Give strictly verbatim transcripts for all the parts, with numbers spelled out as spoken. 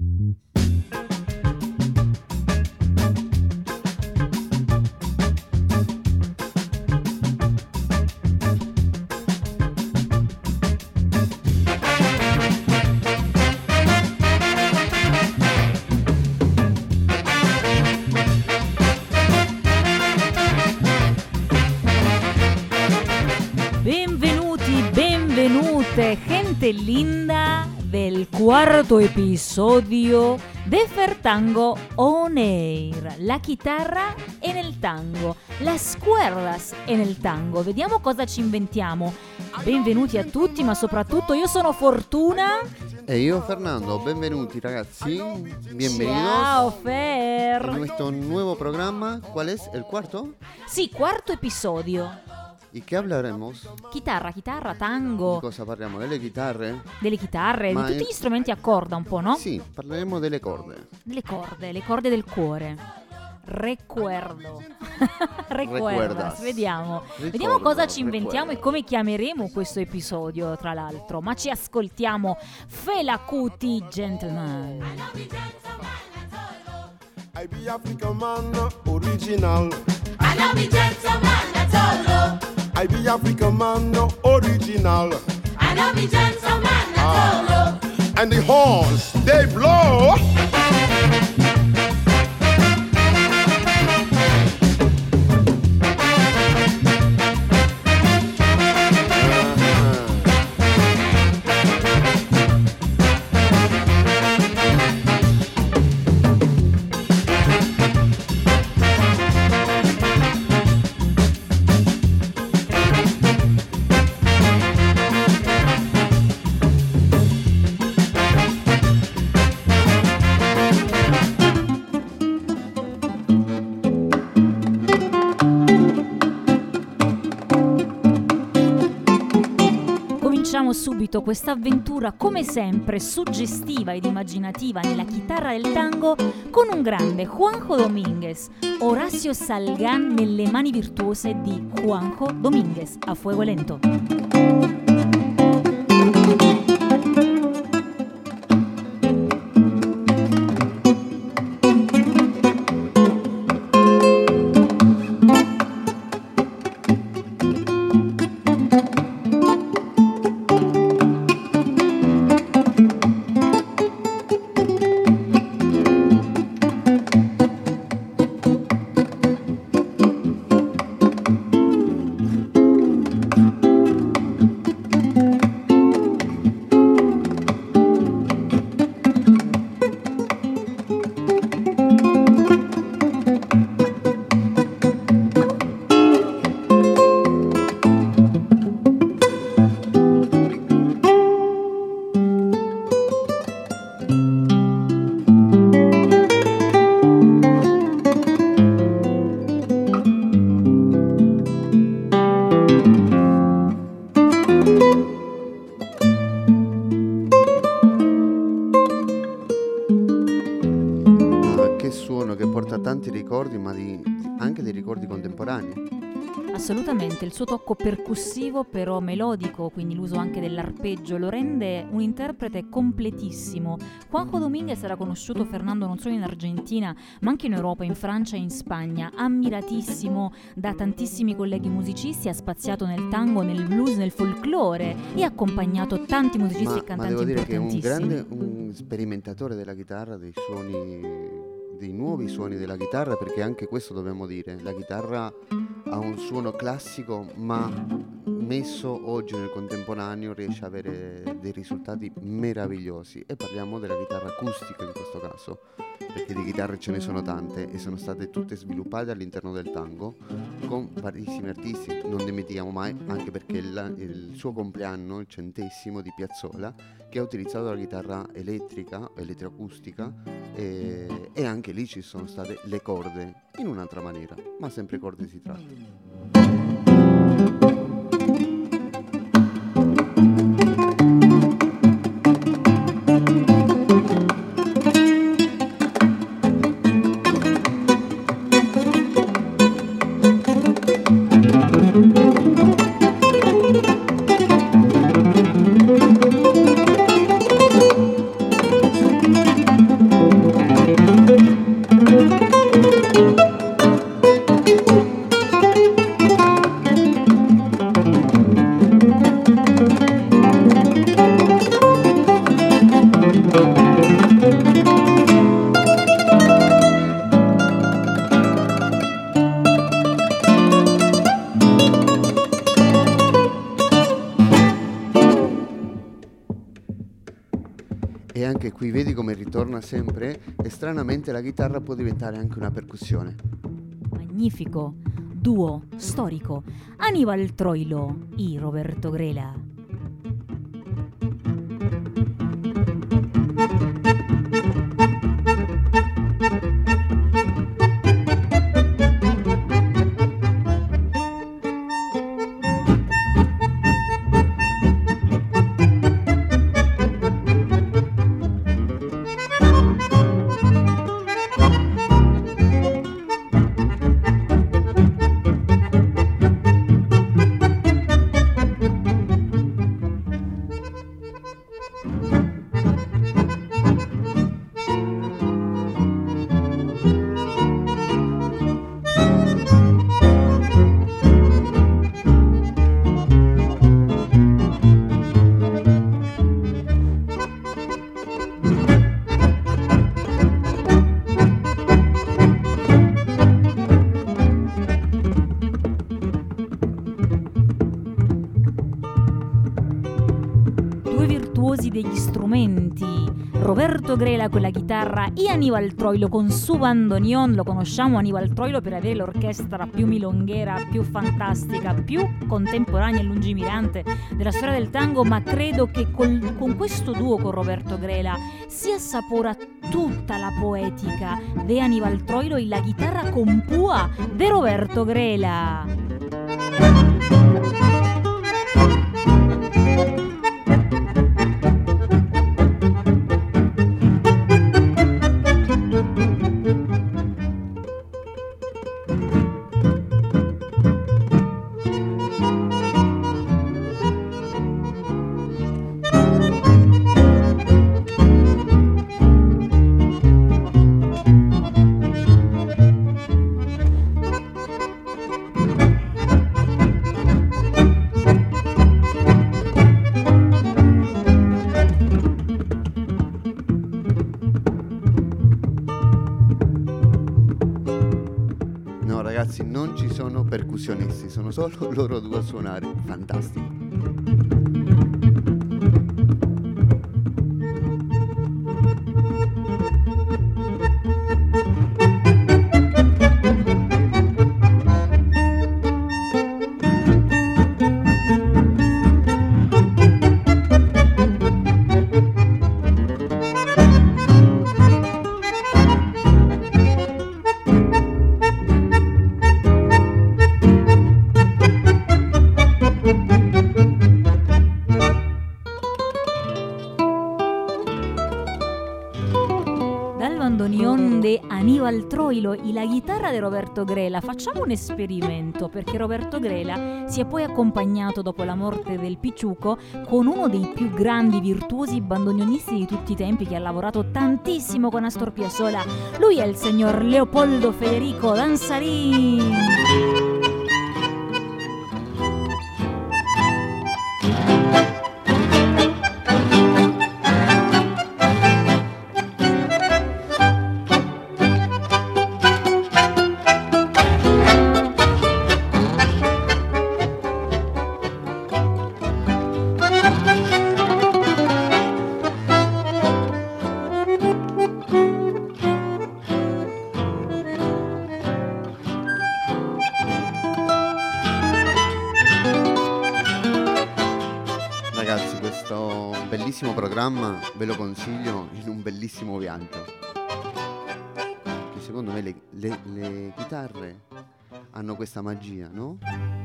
Gente linda del cuarto episodio de Fertango On Air. La chitarra e nel tango, las cuerdas e nel tango. Vediamo cosa ci inventiamo. Benvenuti a tutti, ma soprattutto io sono Fortuna. E io Fernando, benvenuti ragazzi, bienvenidos. Ciao Fer. En nuestro nuevo programa, ¿cuál es? ¿El cuarto? Sì, quarto episodio. ¿Y qué hablaremos? Chitarra, chitarra, tango. Di cosa parliamo? Delle chitarre? Delle chitarre, Ma di tutti in- gli strumenti a corda un po', no? Sì, parleremo delle corde. Delle corde, le corde del cuore. Recuerdo. Recuerdas. Recuerdas. Vediamo. Ricordo, Vediamo cosa ci inventiamo recuerdo. e come chiameremo questo episodio, tra l'altro. Ma ci ascoltiamo Fela Kuti, Gentleman. I be African man original. I know me gentleman, that's all. I be African man original. I know me gentleman, that's all. And the horns they blow. Cominciamo subito questa avventura, come sempre, suggestiva ed immaginativa nella chitarra del tango con un grande Juanjo Domínguez, Horacio Salgán nelle mani virtuose di Juanjo Domínguez, a fuego lento. Tanti ricordi, ma di, anche dei ricordi contemporanei. Assolutamente, il suo tocco percussivo però melodico, quindi l'uso anche dell'arpeggio, lo rende un interprete completissimo. Juanjo Domínguez era conosciuto, Fernando, non solo in Argentina, ma anche in Europa, in Francia e in Spagna, ammiratissimo da tantissimi colleghi musicisti, ha spaziato nel tango, nel blues, nel folklore e ha accompagnato tanti musicisti ma, e cantanti ma devo dire che è un importantissimi. grande un sperimentatore della chitarra, dei suoni, dei nuovi suoni della chitarra, perché anche questo dobbiamo dire, la chitarra ha un suono classico, ma messo oggi nel contemporaneo riesce ad avere dei risultati meravigliosi. E parliamo della chitarra acustica in questo caso, perché di chitarre ce ne sono tante e sono state tutte sviluppate all'interno del tango con varissimi artisti. Non dimentichiamo mai, anche perché il, il suo compleanno, il centesimo di Piazzolla, che ha utilizzato la chitarra elettrica, elettroacustica, e, e anche lì ci sono state le corde in un'altra maniera, ma sempre corde si tratta. E anche qui vedi come ritorna sempre, e stranamente la chitarra può diventare anche una percussione. Magnifico duo storico, Aníbal Troilo y Roberto Grela. Degli strumenti, Roberto Grela con la chitarra e Aníbal Troilo con su bandoneon. Lo conosciamo Aníbal Troilo per avere l'orchestra più milonghera, più fantastica, più contemporanea e lungimirante della storia del tango, ma credo che col, con questo duo con Roberto Grela si assapora tutta la poetica di Aníbal Troilo e la chitarra con pua di Roberto Grela. Non ci sono percussionisti, sono solo loro due a suonare. Fantastico. Aníbal Troilo e la chitarra di Roberto Grela. Facciamo un esperimento, perché Roberto Grela si è poi accompagnato dopo la morte del Picciuco con uno dei più grandi virtuosi bandoneonisti di tutti i tempi, che ha lavorato tantissimo con Astor Piazzolla. Lui è il signor Leopoldo Federico Danzarin. Programma ve lo consiglio in un bellissimo viaggio, che secondo me le, le, le chitarre hanno questa magia, no?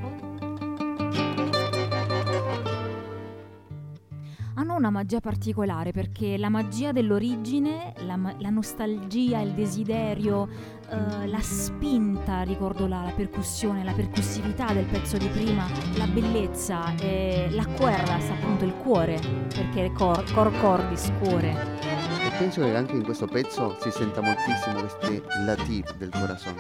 Hanno una magia particolare, perché la magia dell'origine, la, la nostalgia, il desiderio, eh, la spinta, ricordo la, la percussione, la percussività del pezzo di prima, la bellezza, eh, la cuerdas, appunto il cuore, perché cor, cor cordis, cuore. E penso che anche in questo pezzo si senta moltissimo questi latir del corazon.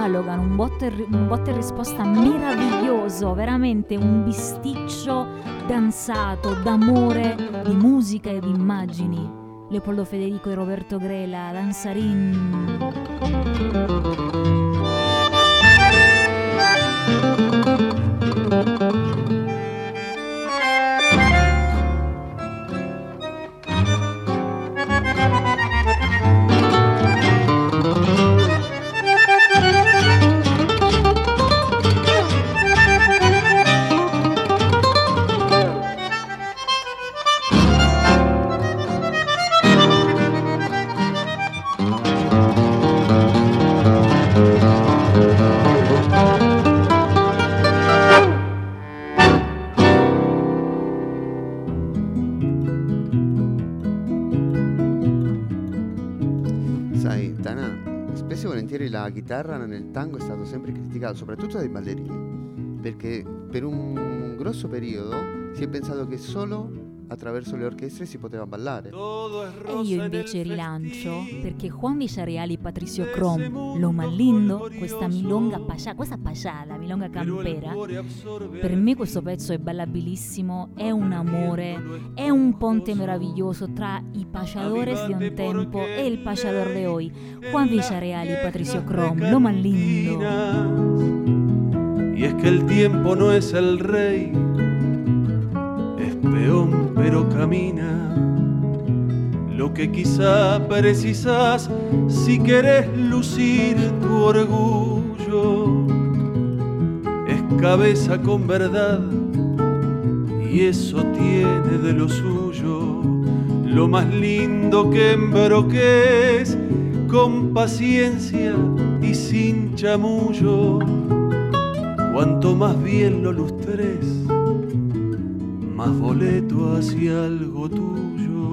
dialogano, un botta e, un botta e risposta meraviglioso, veramente un bisticcio danzato d'amore, di musica e di immagini. Leopoldo Federico e Roberto Grela, Danzarin. La chitarra nel tango è stato sempre criticato, soprattutto dai ballerini, perché per un grosso periodo si è pensato che solo attraverso le orchestre si poteva ballare. E io invece rilancio, perché Juan Villarreal e Patricio Crom, Lo más lindo, questa milonga pascià, questa pascià, la milonga campera, per me questo pezzo è ballabilissimo, è un amore, è un ponte meraviglioso tra i payadores di un tempo e il payador de hoy. Juan Villarreal y Patricio Crom, Lo más lindo. Y es que el tiempo no es el rey, es peón pero camina. Lo que quizá precisas si querés lucir tu orgullo es cabeza con verdad, y eso tiene de lo suyo. Lo más lindo que embroques con paciencia y sin chamullo. Cuanto más bien lo lustres, más boleto hacia algo tuyo.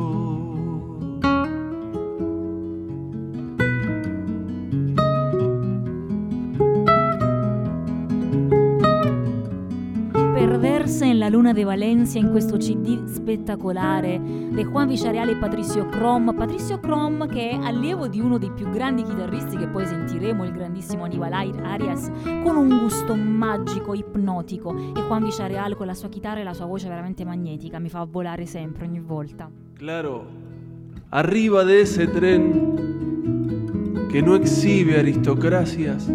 Perderse en la luna de Valencia, in questo C D spettacolare di Juan Villarreal e Patricio Crom. Patricio Crom, che è allievo di uno dei più grandi chitarristi che poi sentiremo, il grandissimo Aníbal Arias, con un gusto magico, ipnotico, e Juan Villarreal con la sua chitarra e la sua voce veramente magnetica, mi fa volare sempre, ogni volta. Claro, arriba de ese tren que no exhibe aristocracias,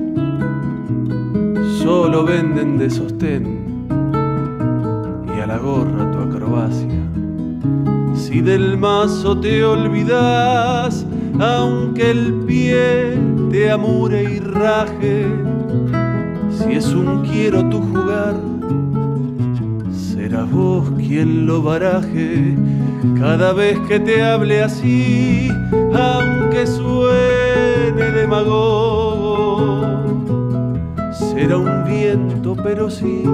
solo venden de sostén y a la gorra tu acrobacia. Si del mazo te olvidas, aunque el pie te amure y raje, si es un quiero tu jugar, serás vos quien lo baraje. Cada vez que te hable así, aunque suene demagogo, será un viento pero sí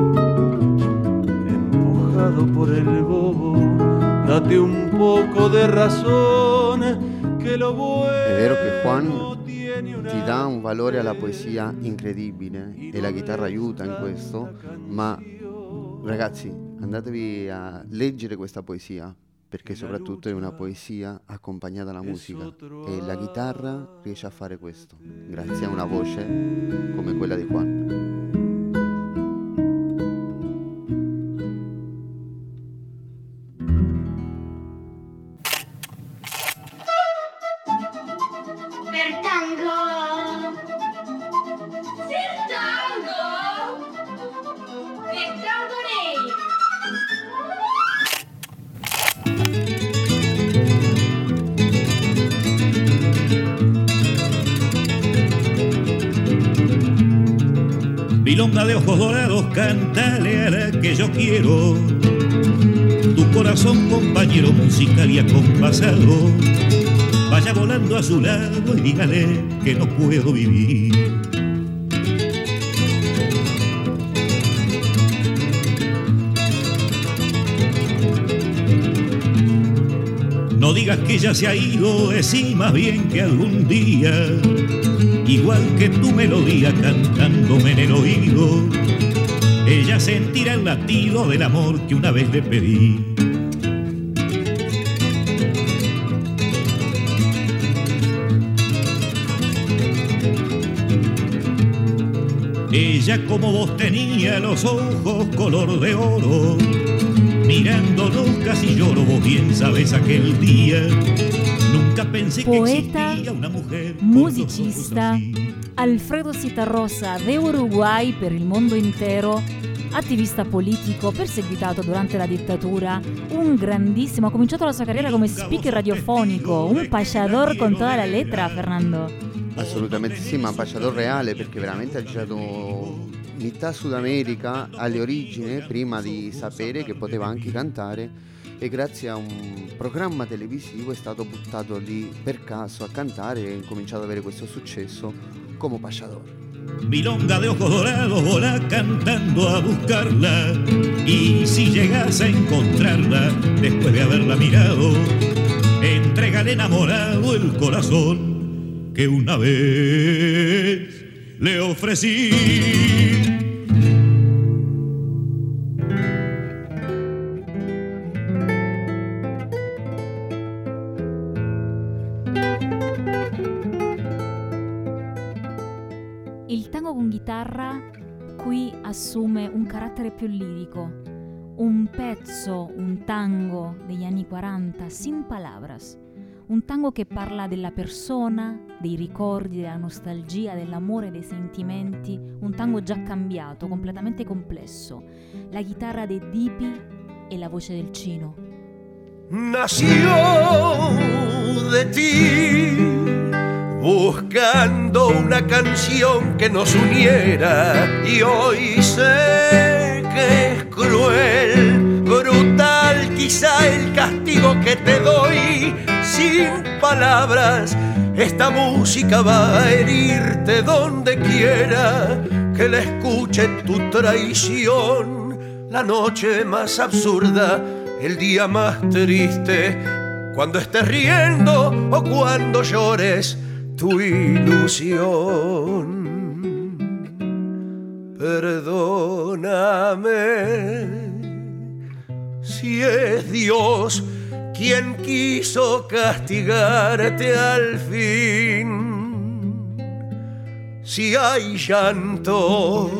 empujado por el bobo. Date un poco de razón che lo vuoi. È vero che Juan ti dà un valore alla poesia incredibile e la chitarra aiuta in questo, ma ragazzi, andatevi a leggere questa poesia, perché soprattutto è una poesia accompagnata alla musica e la chitarra riesce a fare questo grazie a una voce come quella di Juan. Milonga de ojos dorados, cántale a la que yo quiero. Tu corazón, compañero musical y acompasado, vaya volando a su lado y dígale que no puedo vivir. No digas que ya se ha ido, decí más bien que algún día, igual que tu melodía cantándome en el oído, ella sentirá el latido del amor que una vez le pedí. Ella como vos tenía los ojos color de oro, mirándonos casi lloro, vos bien sabes aquel día. Nunca pensé Poeta, que existía una mujer musicista, Alfredo Citarrosa de Uruguay per il mondo intero, attivista politico, perseguitato durante la dittatura, un grandissimo, ha cominciato la sua carriera come speaker radiofonico, un payador con toda la letra, Fernando. Assolutamente sì, ma pacciador reale, perché veramente ha girato metà Sud America alle origini prima di sapere che poteva anche cantare, e grazie a un programma televisivo è stato buttato lì per caso a cantare e ha cominciato ad avere questo successo come pacciador. Milonga de ojos dorados, volá cantando a buscarla, y si llegas a encontrarla después de haberla mirado, entrégale enamorado el corazón que una vez le ofrecí. Il tango con chitarra qui assume un carattere più lirico, un pezzo, un tango degli anni quaranta, sin palabras, un tango che parla della persona, dei ricordi, della nostalgia, dell'amore, dei sentimenti, un tango già cambiato, completamente complesso, la chitarra dei Dipi e la voce del Chino. Nació de ti, buscando una canción que nos uniera, y hoy sé que es cruel, brutal quizá el castigo que te doy. Sin palabras, esta música va a herirte donde quiera que la escuche tu traición. La noche más absurda, el día más triste, cuando estés riendo o cuando llores tu ilusión. Perdóname si es Dios quien quiso castigarte al fin. Si hay llantos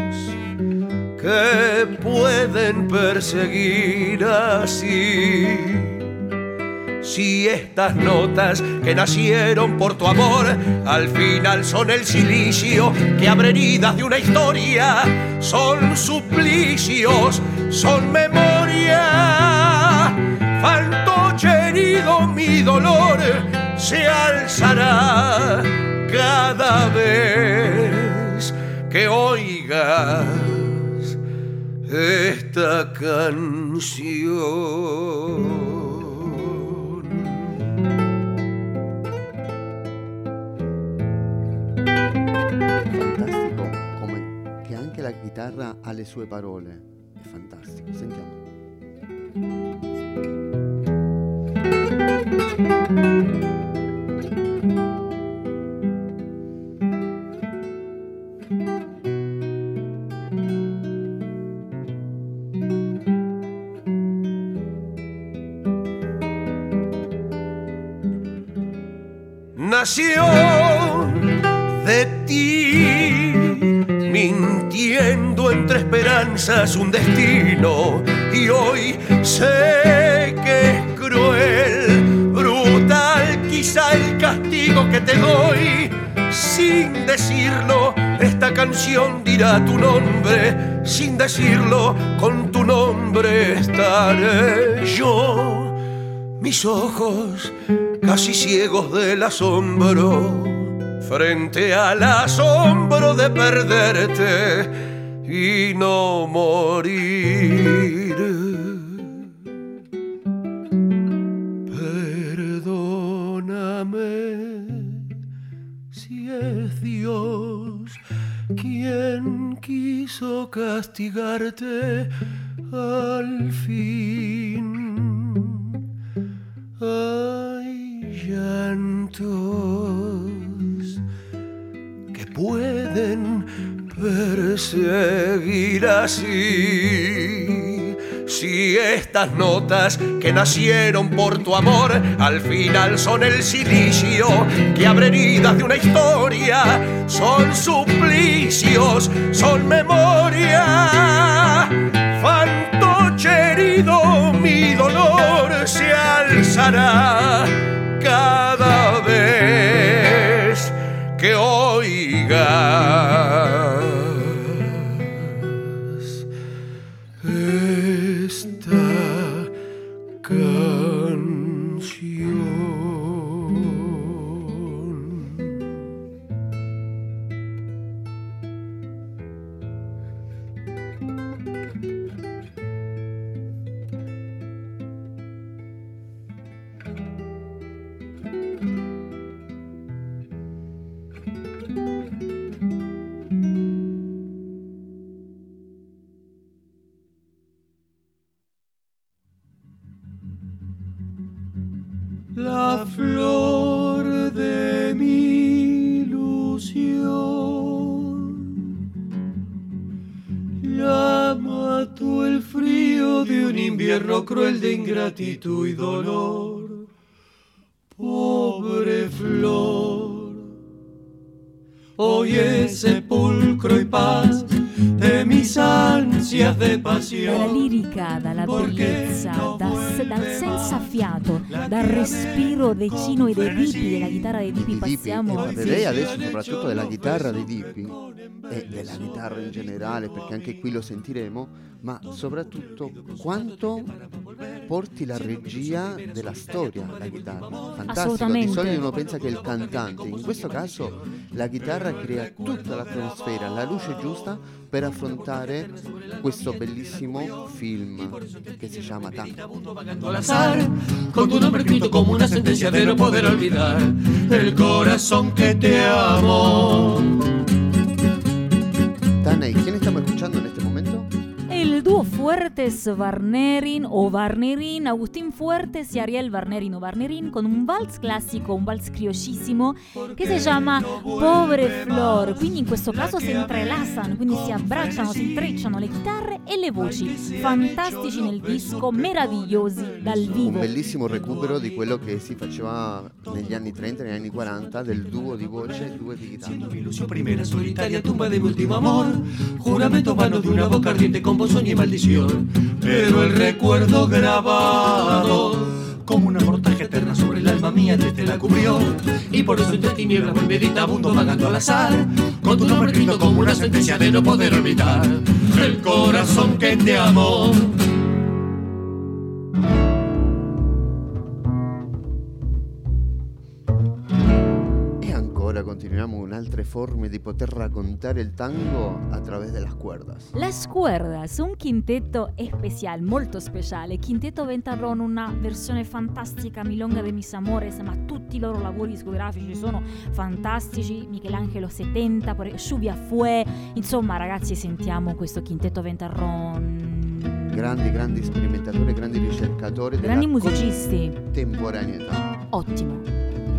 que pueden perseguir así, si estas notas que nacieron por tu amor al final son el silicio que abre heridas de una historia, son suplicios, son memoria. Fantoche herido, mi dolor se alzará cada vez que oigas esta canción. Fantastico come che anche la chitarra ha le sue parole, è fantastico, sentiamo. Nació de ti, mintiendo entre esperanzas un destino, y hoy sé que es cruel, brutal quizá el castigo que te doy. Sin decirlo, esta canción dirá tu nombre, sin decirlo, con tu nombre estaré yo. Mis ojos casi ciegos del asombro, frente al asombro de perderte y no morir. Perdóname si es Dios quien quiso castigarte al fin. Hay llantos que pueden perseguir así, Si estas notas que nacieron por tu amor al final son el silicio que abre heridas de una historia, son suplicios, son memoria. Fantoche herido, mi dolor se alzará cada vez que oigas esta canción. La flor de mi ilusión la mató el frío de un invierno cruel de ingratitud y dolor. Pobre flor, hoy es sepulcro y paz de mis ansias de pasión. Dalla lirica, dalla bellezza, da, dal senza fiato, dal respiro decino e dei Dipi, della chitarra dei Dipi passiamo. E parlerei adesso soprattutto della chitarra dei Dipi e della chitarra in generale, perché anche qui lo sentiremo, ma soprattutto quanto porti la regia della storia la chitarra. Fantastico, di solito uno pensa che è il cantante, in questo caso la chitarra crea tutta l'atmosfera, la luce giusta per affrontare questo bellissimo film che si chiama Tango. Al azar, con tu nombre escrito como una sentencia de no poder olvidar el corazón que te amo. Tana, ¿y quién estamos escuchando en este momento? Il duo Fuertes Varnerin o Varnerin, Agustín Fuertes y Ariel Varnerin o Varnerin, con un vals classico, un vals crioscissimo che si chiama Pobre Flor. Quindi in questo caso si entrelazan, quindi si abbracciano, si intrecciano le chitarre e le voci. Fantastici nel disco, meravigliosi dal vivo. Un bellissimo recupero di quello che si faceva negli anni trenta, negli anni quaranta, del duo di voce e duo di chitarra. Mi ilusión primera, solitaria tumba de mi último amor, juramento vano de una boca ardiente con voz, sueño y maldición, pero el recuerdo grabado como una mortaja eterna sobre el alma mía triste la cubrió, y por eso entre tinieblas voy meditabundo vagando al azar, con tu nombre escrito como una sentencia de no poder olvidar el corazón que te amó. Continuiamo con altre forme di poter raccontare il tango a través de las cuerdas. Las Cuerdas, un quintetto especial, molto speciale. Quintetto Ventarrón, una versione fantastica, Milonga de mis amores, ma tutti i loro lavori discografici sono fantastici. Michelangelo settanta, Lluvia Fue, insomma ragazzi, sentiamo questo Quintetto Ventarrón. Grandi, grandi sperimentatori, grandi ricercatori, grandi musicisti, contemporaneità. Ottimo.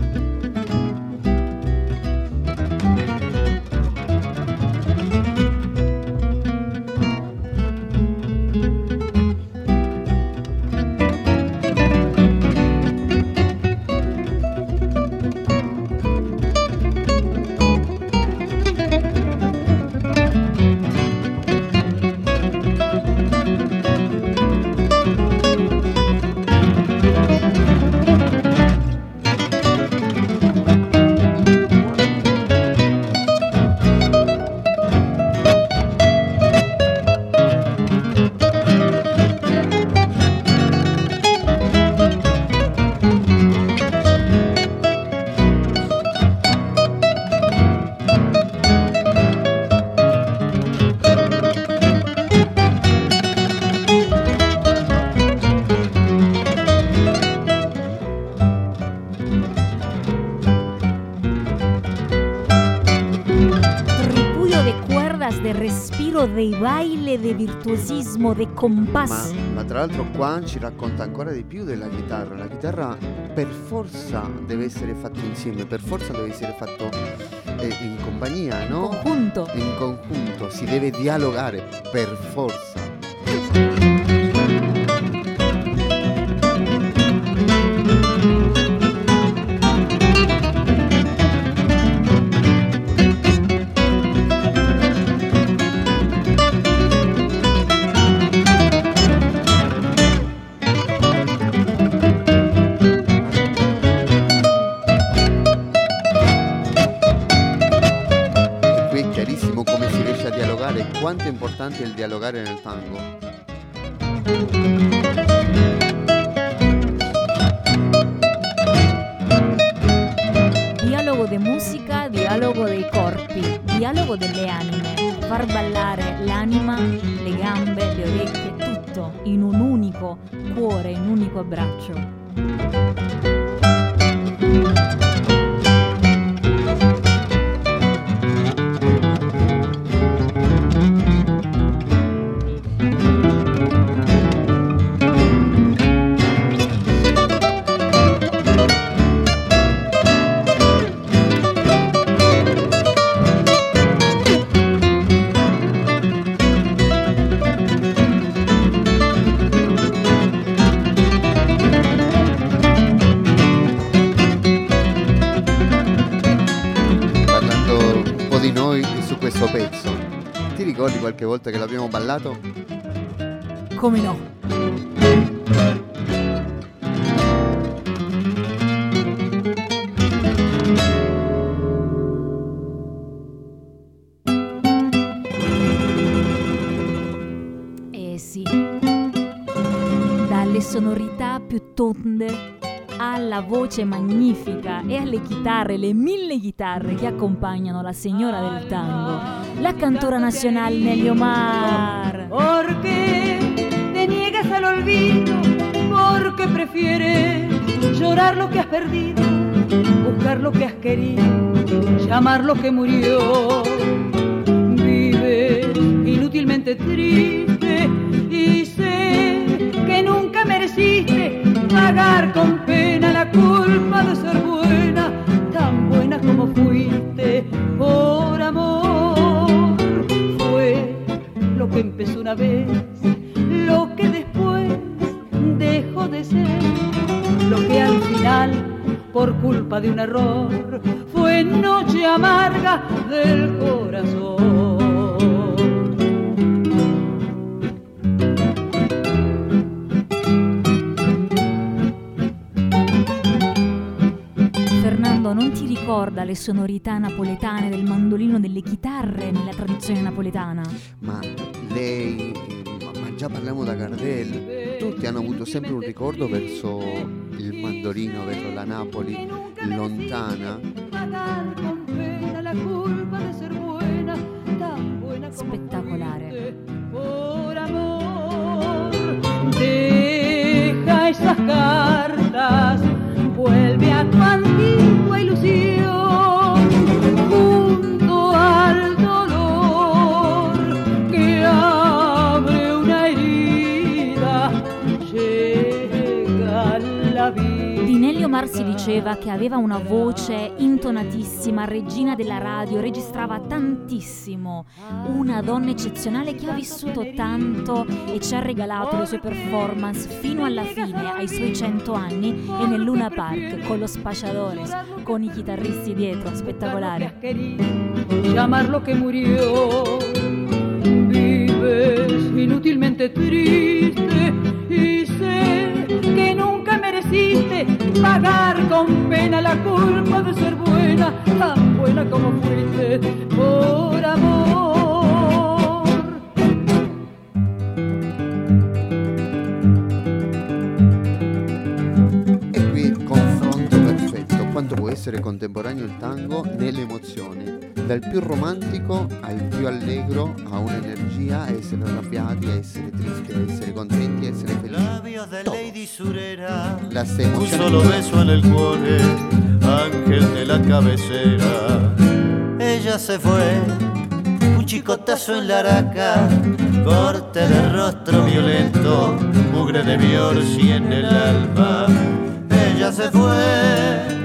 Dei baile, de virtuosismo, de compás. Ma, ma tra l'altro qua ci racconta ancora di più della chitarra. La chitarra per forza deve essere fatta insieme, per forza deve essere fatto eh, in compagnia, no? In conjunto. In conjunto, si deve dialogare per forza. importante il dialogare nel tango. Dialogo de musica, dialogo dei corpi, dialogo delle anime, far ballare l'anima, le gambe, le orecchie, tutto in un unico cuore, in un unico abbraccio. Ricordi qualche volta che l'abbiamo ballato? Come no? Eh sì, dalle sonorità più tonde alla voce magnifica e alle chitarre, le mille chitarre che accompagnano la signora del tango, la cantora nacional Nelly Omar. Porque te niegas al olvido, porque prefieres llorar lo que has perdido, buscar lo que has querido, llamar lo que murió. Vives inútilmente triste y sé que nunca mereciste pagar con pena la culpa de ser buena, tan buena como fuiste por amor. Fue lo que empezó una vez, lo que después dejó de ser, lo que al final, por culpa de un error, fue noche amarga del corazón. Non ti ricorda le sonorità napoletane del mandolino, delle chitarre nella tradizione napoletana? Ma lei, ma già parliamo da Gardel, tutti hanno avuto sempre un ricordo verso il mandolino, verso la Napoli lontana. Spettacolare. Deja esas cartas, vuelve a tu antigua ilusión, junto al dolor que abre una herida, llega la vida. Di Nelly Omar si diceva che aveva una voce intonatissima, regina della radio, registrava tantissimo, una donna eccezionale che ha vissuto tanto e ci ha regalato le sue performance fino alla fine, ai suoi cento anni, e nel Luna Park con lo Spacciadores, con i chitarristi dietro, spettacolare. Llamar lo que murió, vives inútilmente triste y sé que nunca mereciste pagar con pena la culpa de ser buena, tan buena como fuiste por amor. E qui il confronto perfetto, quanto può essere contemporaneo il tango nelle emozioni, dal più romantico al più allegro, a un'energia, a essere arrabbiati, a essere tristi, a essere contenti, a essere felici. Las emociones. Un solo beso en el cuore, ángel de la cabecera. Ella se fue, un chicotazo en la araca, corte de rostro violento, mugre de Biorsi en el alma. Ella se fue.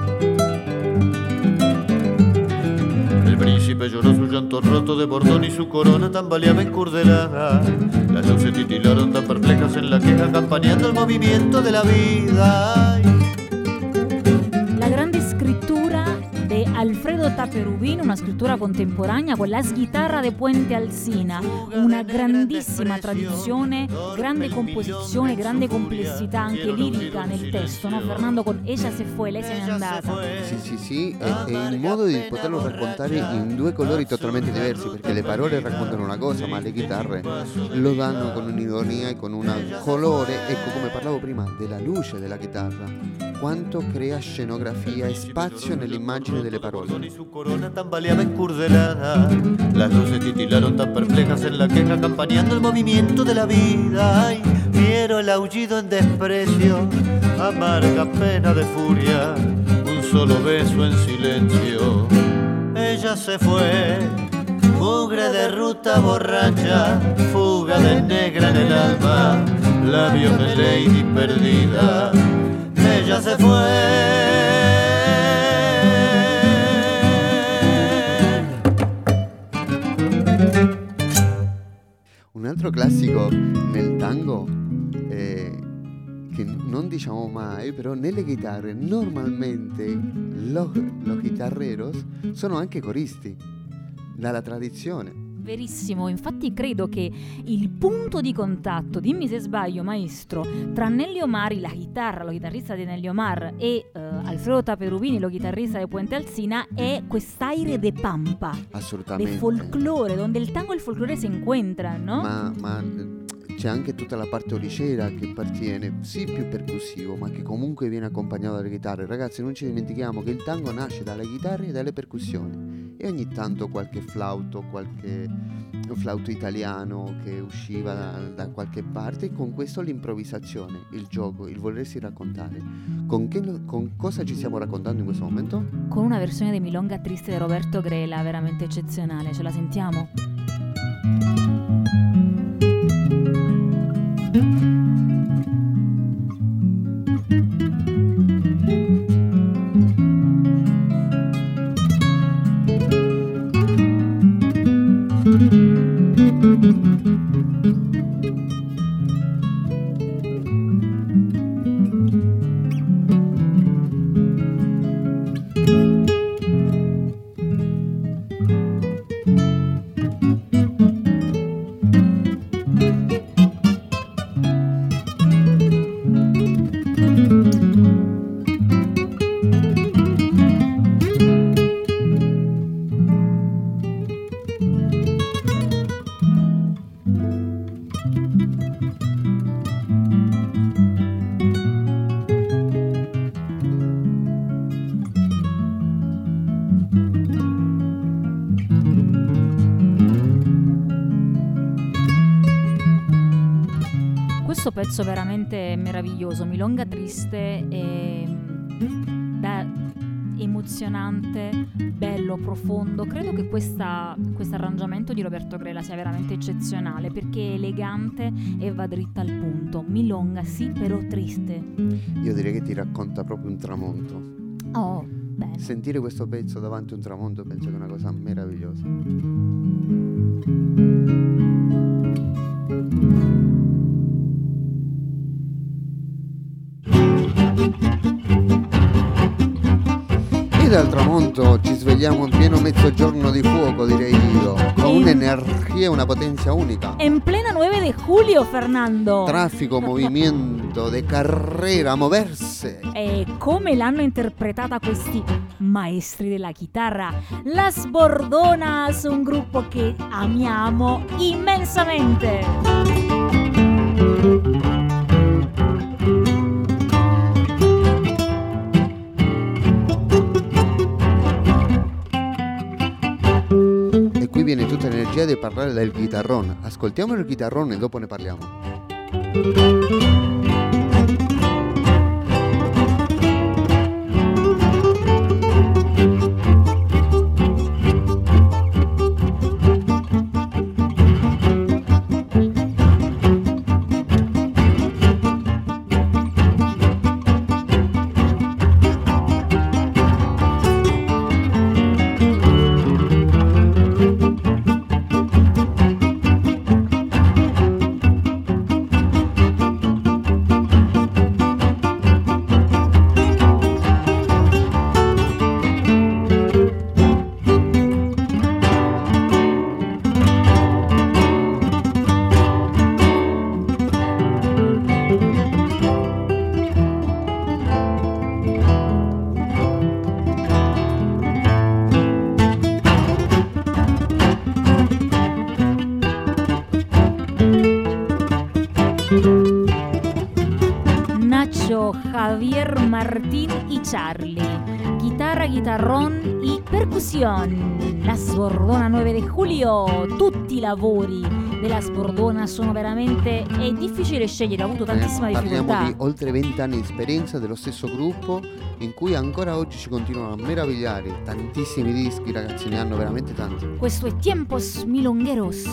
El príncipe lloró su llanto roto de bordón y su corona tambaleaba encurdelada. Las luces titilaron tan perplejas en la queja, campaneando el movimiento de la vida. La grande scrittura de Alfredo Taperubin, una scrittura contemporanea con la sghitarra de Puente Alsina, una grandissima tradizione, grande composizione, grande complessità anche lirica nel testo, no? Fernando con Ella se fue, lei se n'è andata. Sì, sì, sì, e, e il modo di poterlo raccontare in due colori totalmente diversi, perché le parole raccontano una cosa, ma le chitarre lo danno con un'ironia e con un colore. Ecco, come parlavo prima della luce della chitarra, quanto crea scenografia e spazio nell'immagine delle parole. Su corona tambaleaba encurdelada, las luces titilaron tan perplejas en la queja, acompañando el movimiento de la vida. Ay, fiero el aullido en desprecio, amarga pena de furia, un solo beso en silencio. Ella se fue, mugre de ruta borracha, fuga de negra en el alma, labios de lady perdida. Ella se fue. Un altro classico nel tango eh, che non diciamo mai, però nelle chitarre normalmente los, los chitarreros sono anche coristi, dalla tradizione. Verissimo, infatti credo che il punto di contatto, dimmi se sbaglio maestro, tra Nelly Omar, la chitarra, lo chitarrista di Nelly Omar, e uh, Alfredo Taperubini, lo chitarrista di Puente Alsina, è quest'aire de pampa, assolutamente, de folklore, donde il tango e il folklore si incontrano, no? Ma, ma c'è anche tutta la parte oricera che appartiene, sì, più percussivo, ma che comunque viene accompagnato dalle chitarre. Ragazzi, non ci dimentichiamo che il tango nasce dalle chitarre e dalle percussioni, e ogni tanto qualche flauto, qualche flauto italiano che usciva da, da qualche parte, e con questo l'improvvisazione, il gioco, il volersi raccontare. Con, che, con cosa ci stiamo raccontando in questo momento? Con una versione di Milonga Triste di Roberto Grela veramente eccezionale, ce la sentiamo? Questo pezzo veramente meraviglioso, Milonga Triste, è da emozionante, bello, profondo. Credo che questo arrangiamento di Roberto Grela sia veramente eccezionale, perché è elegante e va dritta al punto. Milonga sì, però triste. Io direi che ti racconta proprio un tramonto. Oh, bene. Sentire questo pezzo davanti a un tramonto penso che è una cosa meravigliosa. Dal tramonto ci svegliamo in pieno mezzogiorno di fuoco, direi io, con in... un'energia e una potenza unica. En plena nueve de julio, Fernando. Traffico, movimento, de carrera, moverse. E come l'hanno interpretata questi maestri della chitarra? Las Bordonas, un gruppo che amiamo immensamente. Viene tutta l'energia di parlare del chitarrone. Ascoltiamo il chitarrone e dopo ne parliamo. arpeggio Javier Martín y Charlie, chitarra, chitarrón y percusión. La Sbordona nove di Julio, tutti i lavori della Sbordona sono veramente, è difficile scegliere, ho avuto tantissima eh, difficoltà. Parliamo di oltre vent'anni di esperienza dello stesso gruppo, in cui ancora oggi ci continuano a meravigliare. Tantissimi dischi, ragazzi, ne hanno veramente tanti. Questo è Tiempos Milongueros.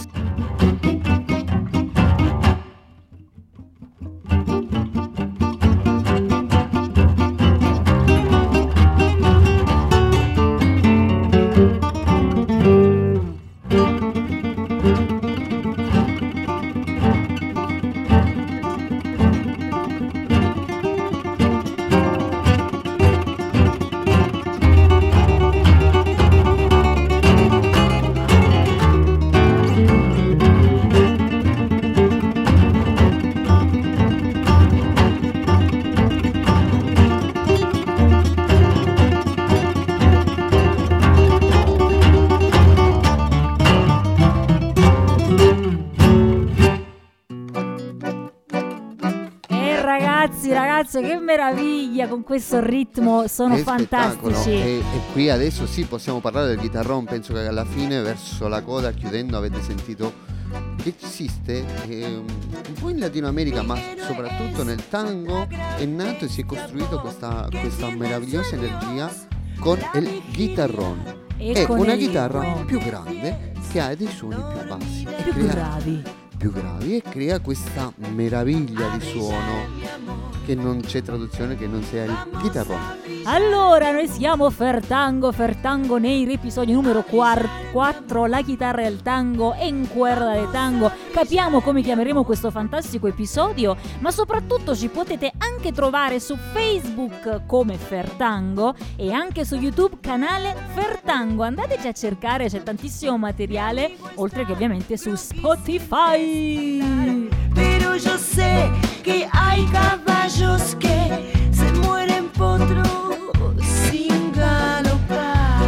Che meraviglia, con questo ritmo sono Che fantastici. E, e qui adesso sì, possiamo parlare del chitarrón. Penso che alla fine, verso la coda, chiudendo, avete sentito che esiste eh, un po' in Latino America, ma soprattutto nel tango, è nato e si è costruito questa, questa meravigliosa energia con il chitarrón. E è con una il chitarra ritmo. più grande che ha dei suoni più bassi e Più crea- bravi. più gravi e crea questa meraviglia di suono che non c'è traduzione che non sia il chitarrón. Allora, noi siamo Fertango, Fertango nei episodio numero quattro, la chitarra del tango en cuerda de tango. Capiamo come chiameremo questo fantastico episodio, ma soprattutto ci potete anche trovare su Facebook come Fertango e anche su YouTube canale Fertango. Andateci a cercare, c'è tantissimo materiale, oltre che ovviamente su Spotify. Pero yo sé que hay caballos que se mueren potros sin galopar.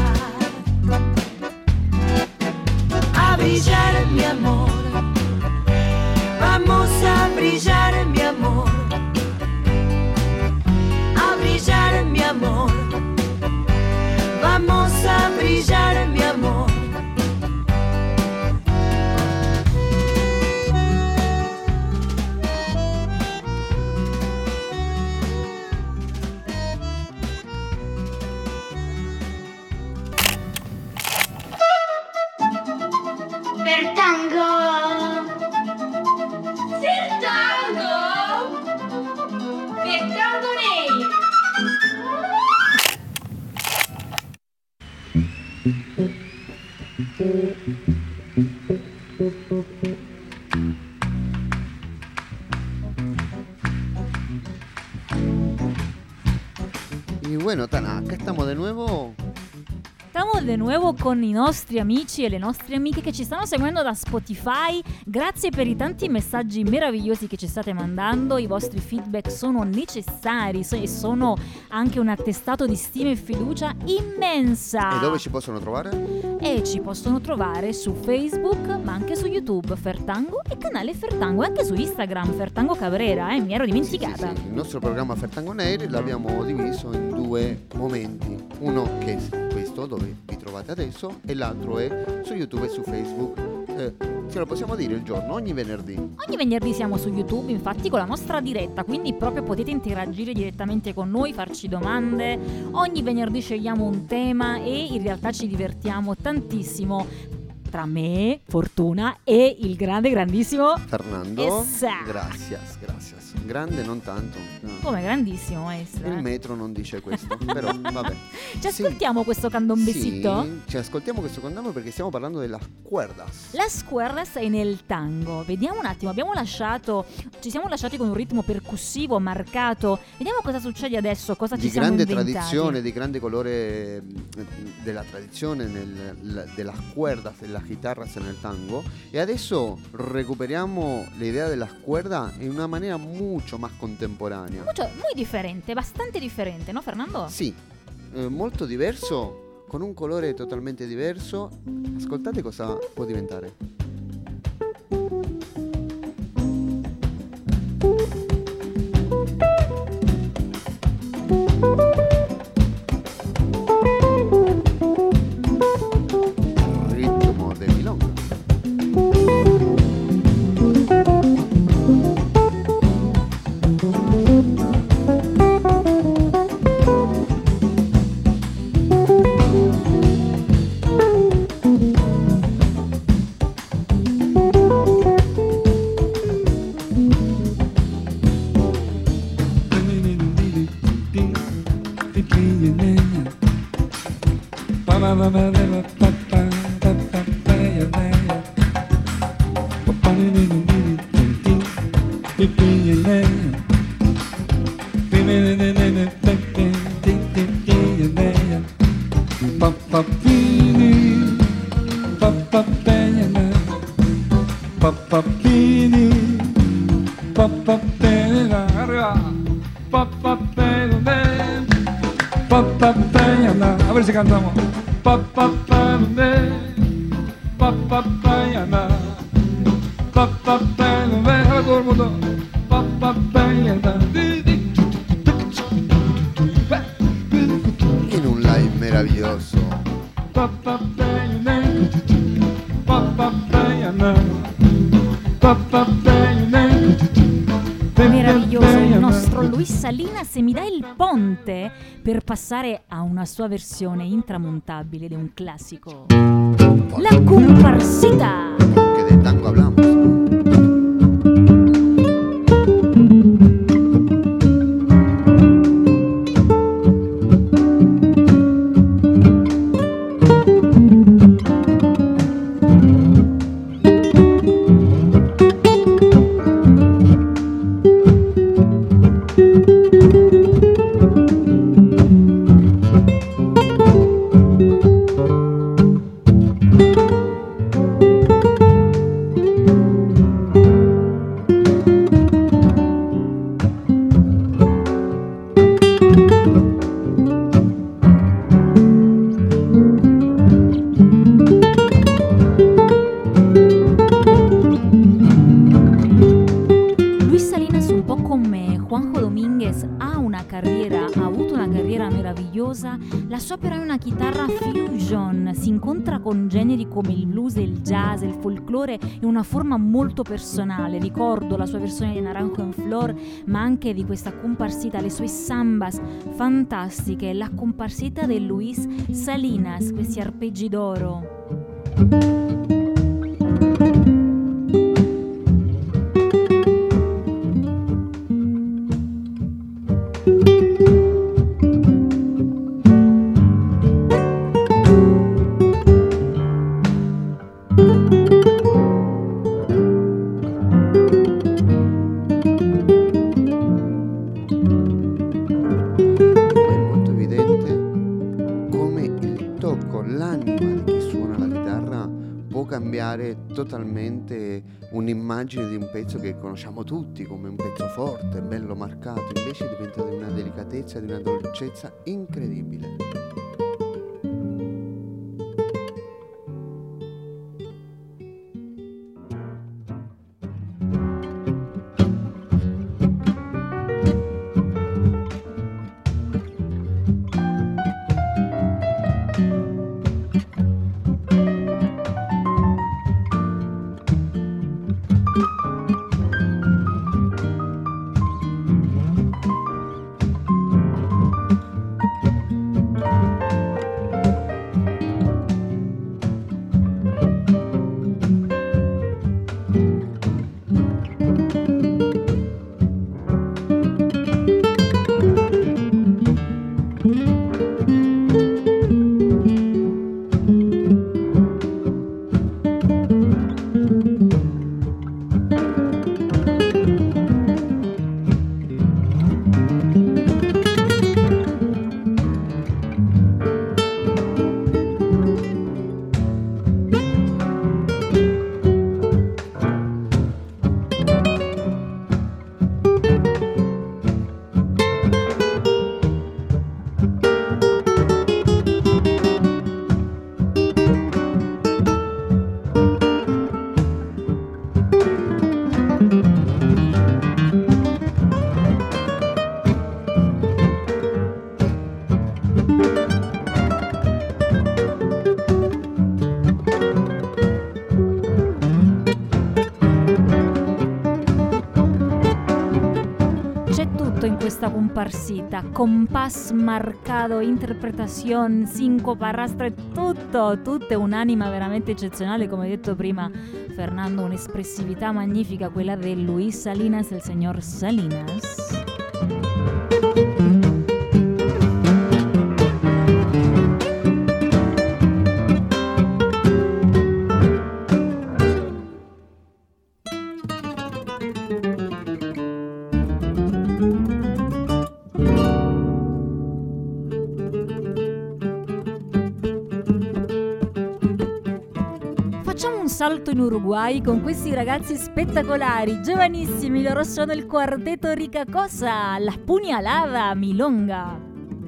A brillar mi amor, vamos a brillar mi amor. A brillar mi amor, vamos a brillar mi amor. Fertango! Fertango! Fertango nei! Y bueno, Tana, acá estamos de nuevo. Estamos de nuevo con i nostri amici e le nostre amiche che ci stanno seguendo da Spotify. Grazie per i tanti messaggi meravigliosi che ci state mandando. I vostri feedback sono necessari e sono anche un attestato di stima e fiducia immensa. E dove ci possono trovare? E ci possono trovare su Facebook, ma anche su YouTube Fertango e canale Fertango, e anche su Instagram Fertango Cabrera, eh, mi ero dimenticata. Sì, sì, sì. Il nostro programma Fertango Neri l'abbiamo diviso in due momenti. Uno che è questo, dove vi trovate adesso, e l'altro è su YouTube e su Facebook. Eh, ce lo possiamo dire il giorno, ogni venerdì. Ogni venerdì siamo su YouTube, infatti, con la nostra diretta, quindi proprio potete interagire direttamente con noi, farci domande. Ogni venerdì scegliamo un tema e in realtà ci divertiamo tantissimo. Tra me, Fortuna e il grande, grandissimo Fernando. Essa. Gracias, gracias. Grande non tanto. No. Come grandissimo, maestro. Il eh? metro non dice questo, però vabbè. Ci ascoltiamo sì. questo candombecito? Sì, ci ascoltiamo questo candombe perché stiamo parlando della cuerdas. Las cuerdas è nel tango. Vediamo un attimo, abbiamo lasciato, ci siamo lasciati con un ritmo percussivo marcato. Vediamo cosa succede adesso, cosa di ci siamo inventati. Di grande tradizione, di grande colore della tradizione nel, della cuerdas, della guitarras nel tango. E adesso recuperiamo l'idea della cuerda in una maniera mucho más contemporanea. Mucho, muy differente, bastante differente, ¿no, Fernando? Sì, eh, molto diverso, con un colore totalmente diverso. Ascoltate cosa può diventare. A ver si cantamos. A todo el mundo. In un live meraviglioso. Meraviglioso il nostro Luis Salinas, se mi dà il ponte per passare a una sua versione intramontabile di un classico, La Comparsita. Que de tango hablamos. La sua però è una chitarra fusion, si incontra con generi come il blues, il jazz, il folklore in una forma molto personale. Ricordo la sua versione di Naranjo en Flor, ma anche di questa comparsita, le sue sambas fantastiche, la comparsita di Luis Salinas, questi arpeggi d'oro. Totalmente un'immagine di un pezzo che conosciamo tutti come un pezzo forte, bello marcato, invece diventa di una delicatezza, di una dolcezza incredibile. Questa comparsita, compás marcado, interpretazione, sincopa, arrastra, tutto, tutto è un'anima veramente eccezionale, come detto prima Fernando, un'espressività magnifica quella di Luis Salinas, il signor Salinas. salto in Uruguay con questi ragazzi spettacolari, giovanissimi. Loro sono il quartetto Rica Cosa, La Puñalada Milonga.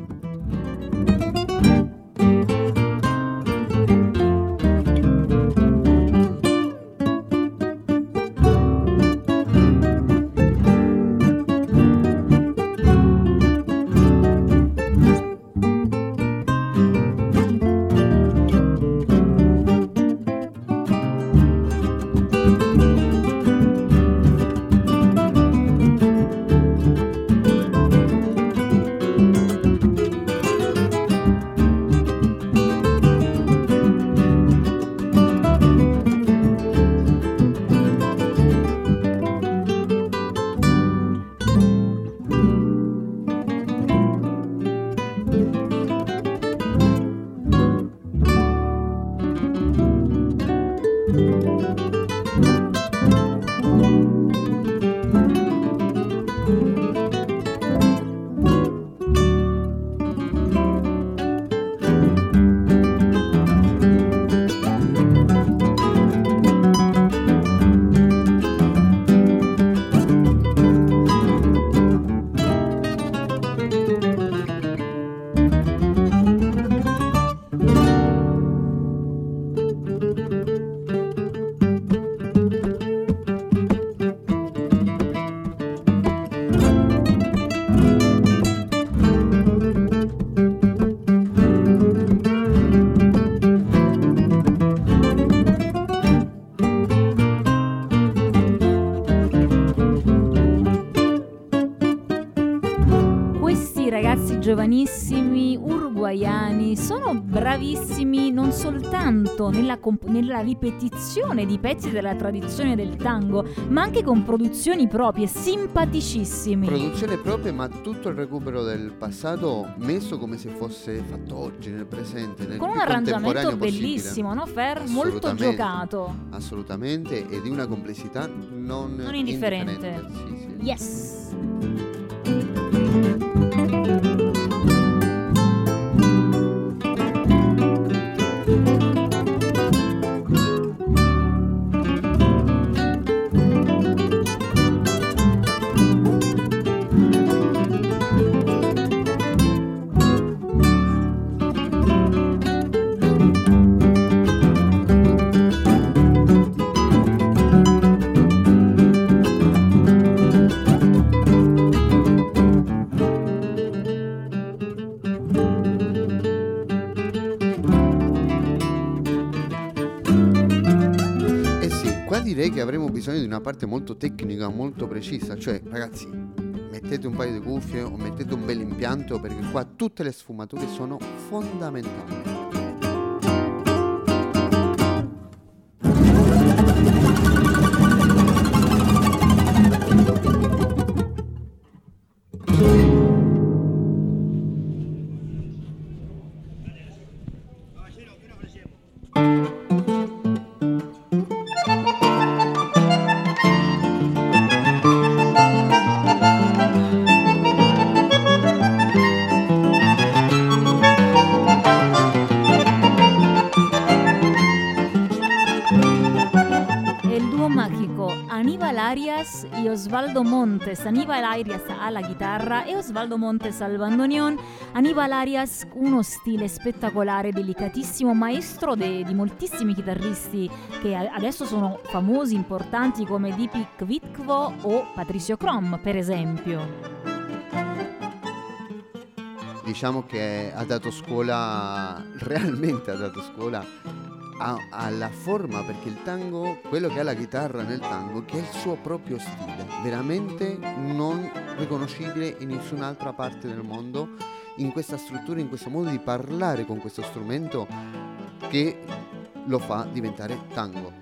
Giovanissimi uruguaiani sono bravissimi non soltanto nella, comp- nella ripetizione di pezzi della tradizione del tango, ma anche con produzioni proprie, simpaticissimi. Produzione propria, ma tutto il recupero del passato messo come se fosse fatto oggi, nel presente, nel con un più arrangiamento possibile. bellissimo, no Fer? Molto giocato. Assolutamente, e di una complessità non, non indifferente. indifferente. Sì, sì. Yes. Direi che avremo bisogno di una parte molto tecnica, molto precisa, cioè ragazzi mettete un paio di cuffie o mettete un bel impianto, perché qua tutte le sfumature sono fondamentali. Y Osvaldo Montes, Aníbal Arias alla chitarra e Osvaldo Montes al bandoneon. Aníbal Arias, uno stile spettacolare, delicatissimo, maestro de, di moltissimi chitarristi che adesso sono famosi, importanti, come Dipi Kvitko o Patricio Crom, per esempio. Diciamo che ha dato scuola, realmente ha dato scuola alla forma, perché il tango, quello che ha la chitarra nel tango, che è il suo proprio stile, veramente non riconoscibile in nessun'altra parte del mondo, in questa struttura, in questo modo di parlare con questo strumento che lo fa diventare tango.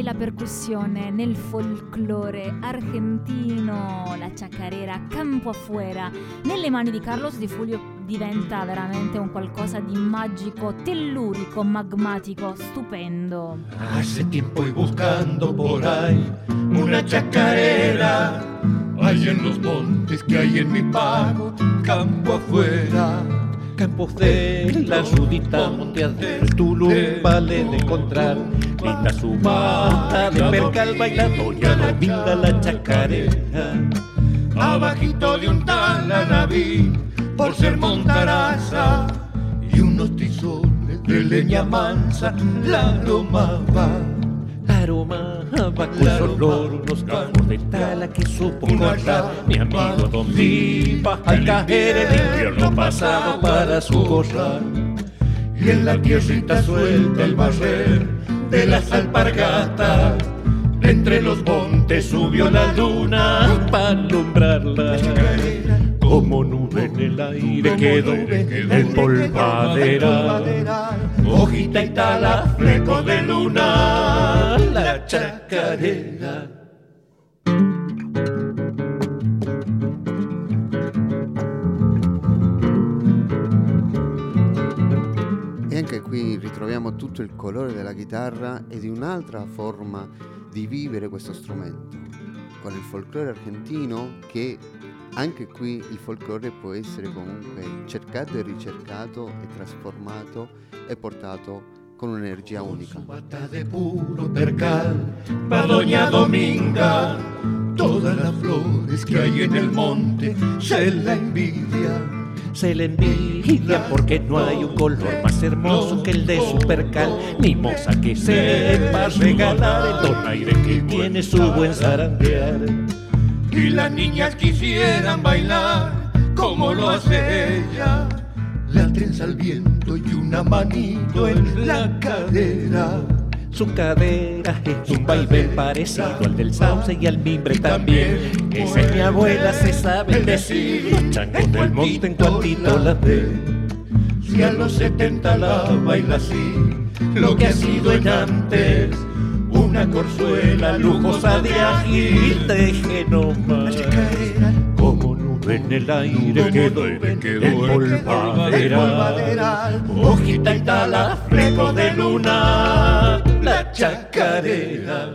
e la percussione nel folklore argentino, la chacarera campo afuera, nelle mani di Carlos Di Fulvio diventa veramente un qualcosa di magico, tellurico, magmatico, stupendo. Hace tiempo y buscando por ahí una chacarera, hay en los montes que hay en mi pago, campo afuera. Campos de la Judita, Monteas del Tulum, vale de encontrar. Linda su bata de percal, baila doña Dominga la chacarera. Abajito de un tal Anabí, por ser montaraza, y unos tizones de leña mansa, la aromaba. Aromaba con olor unos cajos de tala que supo cortar mi amigo Don Viva al caer el invierno pasado para su corral. Y en la tierrita suelta el barrer de las alpargatas, entre los montes subió la luna para alumbrarla. Como nube en el aire quedó el polvadera, hojita y tala, fleco de luna, la chacarera. E anche qui ritroviamo tutto il colore della chitarra e di un'altra forma di vivere questo strumento, con il folklore argentino, che anche qui il folklore può essere comunque cercato e ricercato e trasformato e portato con un'energia unica. Bata de puro percal, pa' doña Dominga, todas las flores que hay en el monte se la envidia. Se le envidia porque no hay un color más hermoso que el de su percal, ni moza que sepa regalar el donaire que tiene su buen zarandear. Y las niñas quisieran bailar como lo hace ella, la trenza al viento y una manito en la cadera. Su cadera es un vaivén parecido al del sauce y al mimbre también. Esa es mi abuela, se sabe decir. Los changos del monte en cuantito las ve. Si a los setenta la baila así, lo que ha sido en antes, una corzuela lujosa de ají. Deje nomás como nube en el aire quedó el polvadera, hojita y tala, fleco de luna, la chacarera.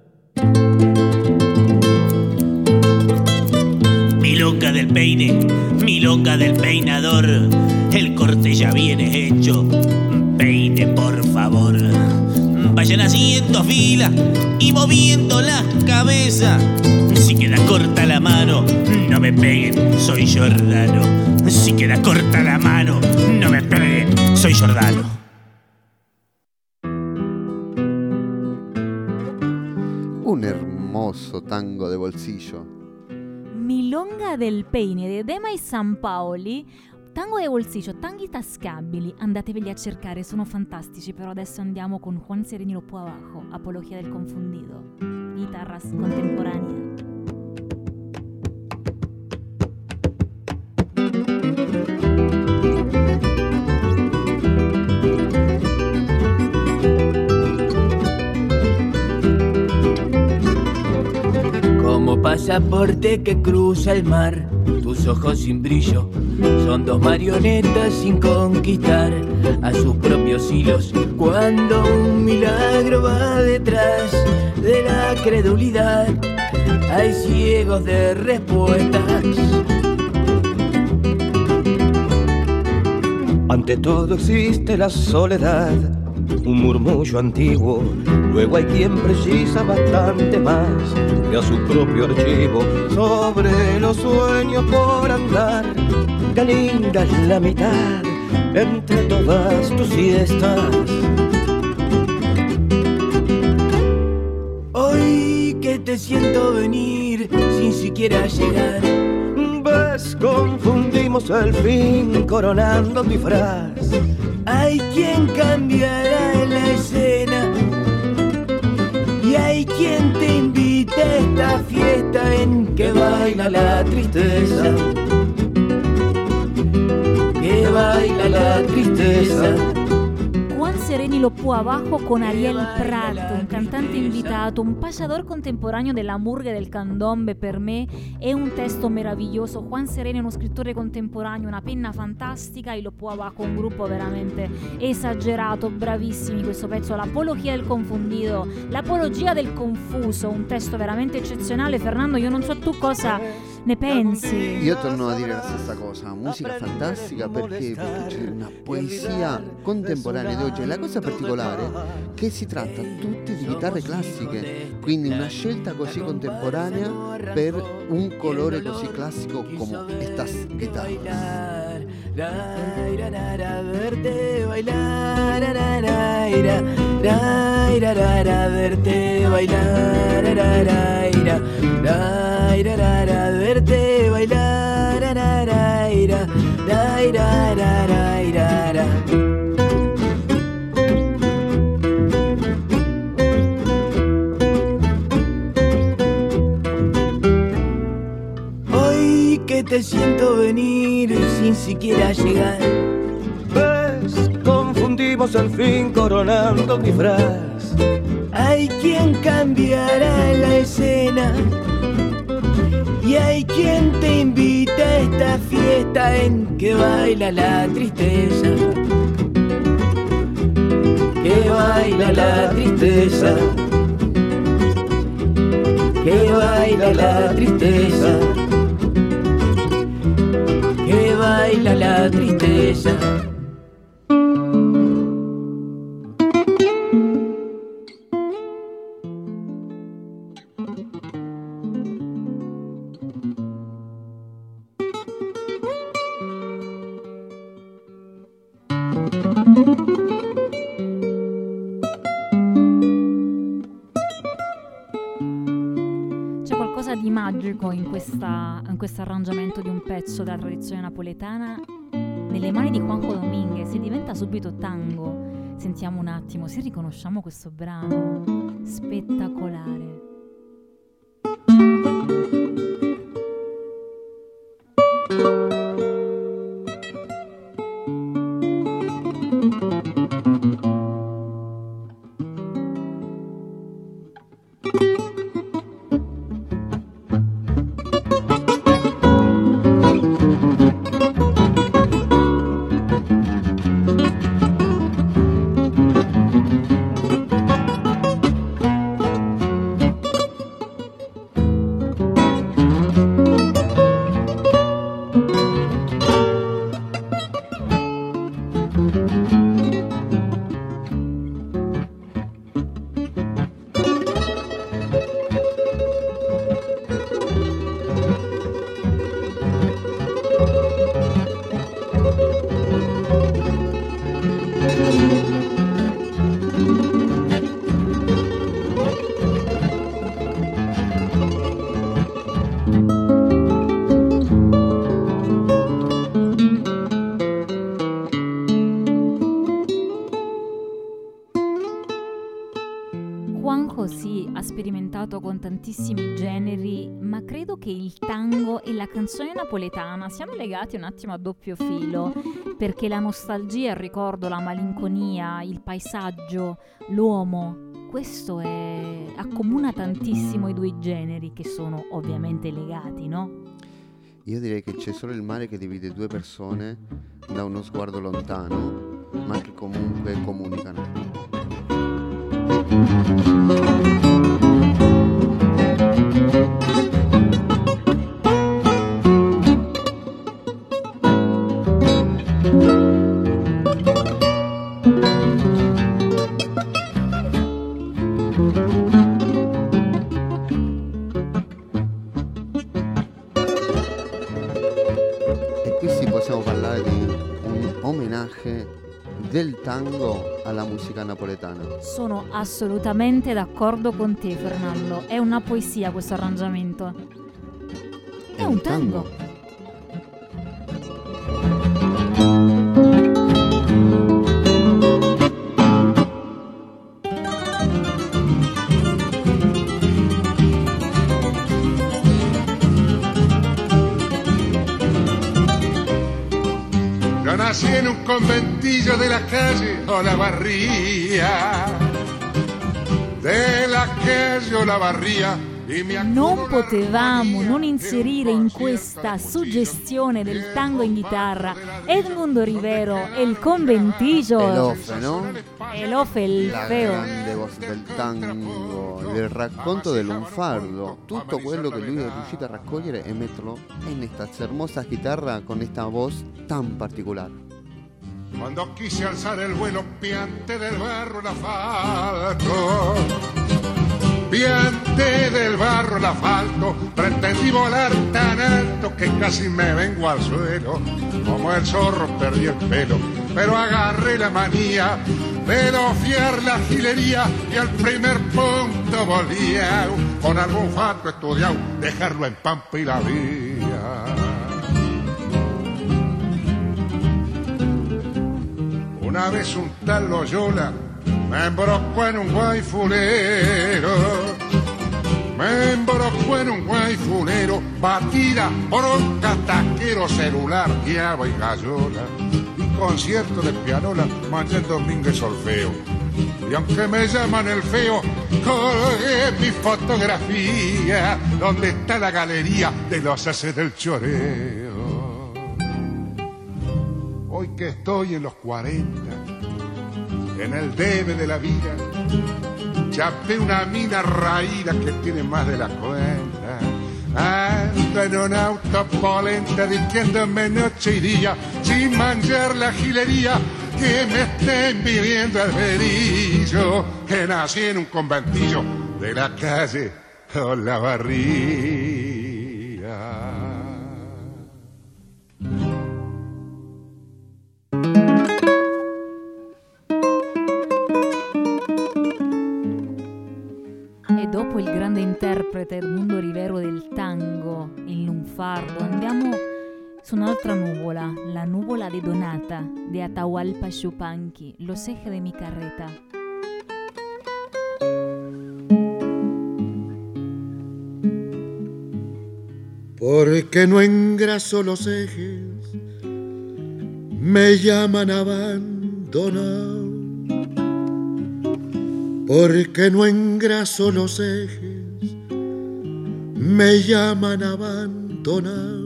Milonga del peine, milonga del peinador, el corte ya viene hecho, peine por favor. Vayan haciendo fila y moviendo la cabeza. Si queda corta la mano, no me peguen, soy Giordano. Si queda corta la mano, no me peguen, soy Giordano. Un hermoso tango de bolsillo. Milonga del peine di Dema e San Paoli. Tango de bolsillo, tanghi tascabili, andateveli a cercare, sono fantastici. Però adesso andiamo con Juan Serenilo Pu Abajo, Apología del Confundido, guitarras contemporáneas. Como pasaporte que cruza el mar, tus ojos sin brillo son dos marionetas sin conquistar a sus propios hilos. Cuando un milagro va detrás de la credulidad, hay ciegos de respuestas. Ante todo existe la soledad, un murmullo antiguo. Luego hay quien precisa bastante más que a su propio archivo. Sobre los sueños por andar, qué linda es la mitad entre todas tus siestas. Hoy que te siento venir sin siquiera llegar, ves, confundimos el fin coronando disfraz. Hay quien cambiará la escena y hay quien te invita a esta fiesta en que baila la tristeza, que baila la tristeza. Juan Sereni lo può abajo con Ariel Prat, un cantante invitato, un payador contemporaneo della murga e del candombe. Per me è un testo meraviglioso. Juan Sereni è uno scrittore contemporaneo, una penna fantastica, e lo può abajo, un gruppo veramente esagerato, bravissimi. Questo pezzo, l'apologia del confondido, l'apologia del confuso, un testo veramente eccezionale. Fernando, io non so tu cosa ne pensi. Io torno a dire la stessa cosa, musica fantastica perché, perché c'è una poesia contemporanea di oggi. La cosa particolare è che si tratta tutti di chitarre classiche, quindi una scelta così contemporanea per un colore così classico come estas guitarras. Verte bailar, verte bailar, verte bailar. Hoy que te siento venir sin siquiera llegar, ves, confundimos al fin coronando mi disfraz. Hay quien cambiará la escena y hay quien te invita a esta fiesta en que baila la tristeza, que baila la tristeza, que baila la tristeza, que baila la tristeza. In questa, in questo arrangiamento di un pezzo della tradizione napoletana nelle mani di Juanjo Domínguez, e diventa subito tango. Sentiamo un attimo se riconosciamo questo brano spettacolare. Con tantissimi generi, ma credo che il tango e la canzone napoletana siano legati un attimo a doppio filo, perché la nostalgia, il ricordo, la malinconia, il paesaggio, l'uomo, questo è, accomuna tantissimo i due generi, che sono ovviamente legati, no? Io direi che c'è solo il mare che divide due persone da uno sguardo lontano, ma che comunque comunicano. Del tango alla musica napoletana. Sono assolutamente d'accordo con te, Fernando. È una poesia questo arrangiamento. È, È un, un tango. tango. Nací en un conventillo de la calle o la barría, de la calle o la barría. Non potevamo non inserire in questa suggestione del tango in chitarra Edmundo Rivero e il conventillo. Elofe, no? Elofe il La feo. grande voce del tango, del racconto del lunfardo, tutto quello che lui è riuscito a raccogliere e metterlo in questa hermosa chitarra con questa voce tan particolare. Cuando quise alzar el vuelo piante del barro l'asfalto, piante del barro l'asfalto, pretendí volar tan alto que casi me vengo al suelo, como el zorro perdí el pelo, pero agarré la manía de dofiar la gilería y al primer punto volvía, con algún fato estudiado, dejarlo en pampa y la vía. Una vez un tal Loyola me embrocó en un guayfulero, me embrocó en un guayfulero, batida, bronca, taquero, celular, guiaba y gallola, y concierto de pianola, mañana domingo y solfeo. Y aunque me llaman el feo, colgué mi fotografía, donde está la galería de los haces del choreo. Hoy que estoy en los cuarenta, en el debe de la vida, chapé una mina raída que tiene más de la cuenta. Ando en un auto polenta diciéndome noche y día, sin manchar la gilería, que me estén viviendo el verillo, que nací en un conventillo de la calle Olavarría. E dopo il grande interprete Edmundo Rivero del tango, il lunfardo, andiamo su un'altra nuvola, la nuvola de Donata, de Atahualpa Yupanqui, Los ejes de mi carreta. Porque no engraso los ejes, me llaman abandonado. Porque no engraso los ejes, me llaman abandonado.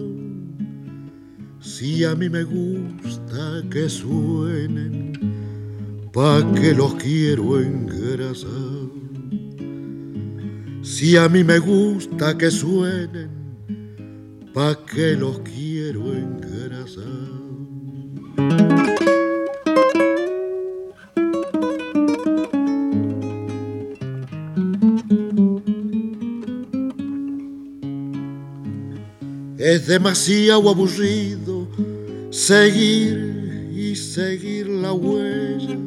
Si a mí me gusta que suenen, pa' que los quiero engrasar. Si a mí me gusta que suenen, pa' que los quiero engrasar. Es demasiado aburrido seguir y seguir la huella.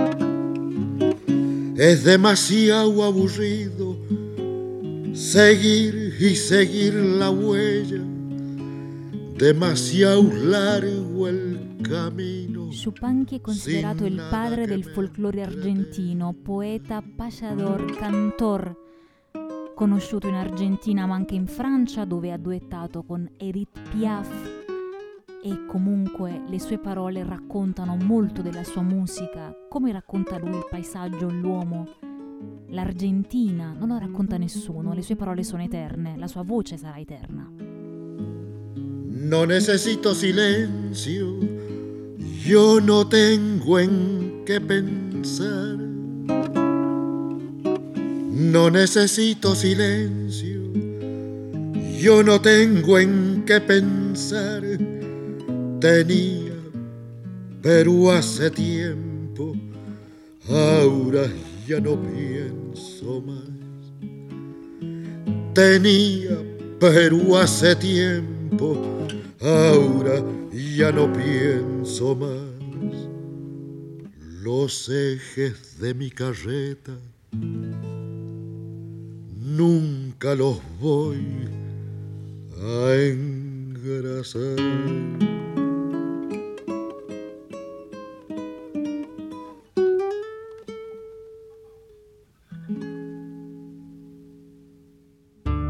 Es demasiado aburrido seguir y seguir la huella. Demasiado largo el camino. Yupanqui è considerato il padre del folklore argentino, poeta, payador, cantor, conosciuto in Argentina ma anche in Francia, dove ha duettato con Edith Piaf, e comunque le sue parole raccontano molto della sua musica, come racconta lui il paesaggio, l'uomo, l'Argentina, non lo racconta nessuno, le sue parole sono eterne, la sua voce sarà eterna. No necesito silencio, yo no tengo en qué pensar. No necesito silencio, yo no tengo en qué pensar. Tenía, pero hace tiempo, ahora ya no pienso más. Tenía, pero hace tiempo, ahora ya no pienso más. Los ejes de mi carreta nunca los voy a engrasar.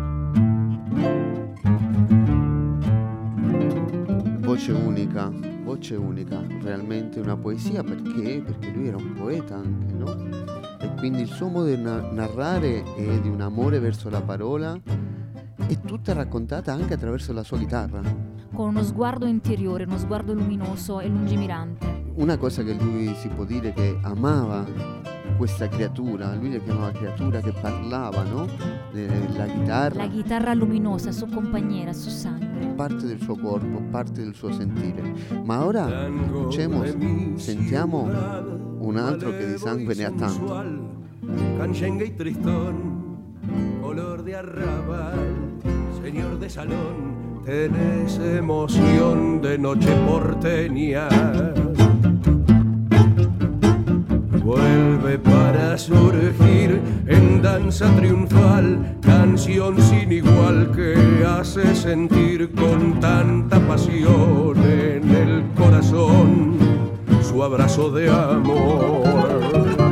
Voce unica, voce voce unica, realmente una poesia, perché? Perché lui era un poeta anche, no? E quindi il suo modo di na- narrare è di un amore verso la parola, è tutta raccontata anche attraverso la sua chitarra. Con uno sguardo interiore, uno sguardo luminoso e lungimirante. Una cosa che lui si può dire che amava questa creatura, lui la chiamava creatura che parlava, no? La chitarra. La chitarra luminosa, sua compagniera, suo sangue. Parte del suo corpo, parte del suo sentire. Ma ora escuchemos, sentiamo un altro che di sangue ne ha tanto. Canchengue y tristón, color de arrabal, señor de salón, tenés emoción de noche porteña. Vuelve para surgir en danza triunfal, canción sin igual que hace sentir con tanta pasión en el corazón su abrazo de amor.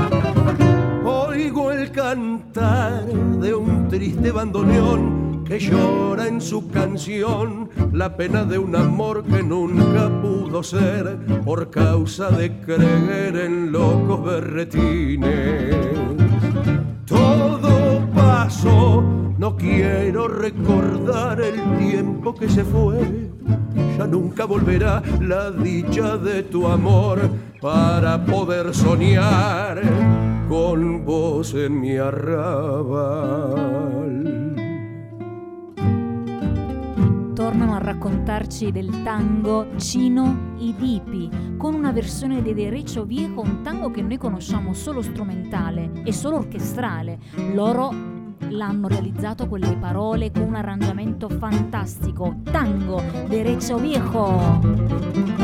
Oigo el cantar de un triste bandoneón que llora en su canción la pena de un amor que nunca pudo ser por causa de creer en locos berretines. Todo pasó, no quiero recordar el tiempo que se fue. Ya nunca volverá la dicha de tu amor para poder soñar con vos en mi arrabal. Tornano a raccontarci del tango Chino y Dipi, con una versione di Derecho Viejo, un tango che noi conosciamo solo strumentale e solo orchestrale. Loro l'hanno realizzato con le parole, con un arrangiamento fantastico. Tango Derecho Viejo.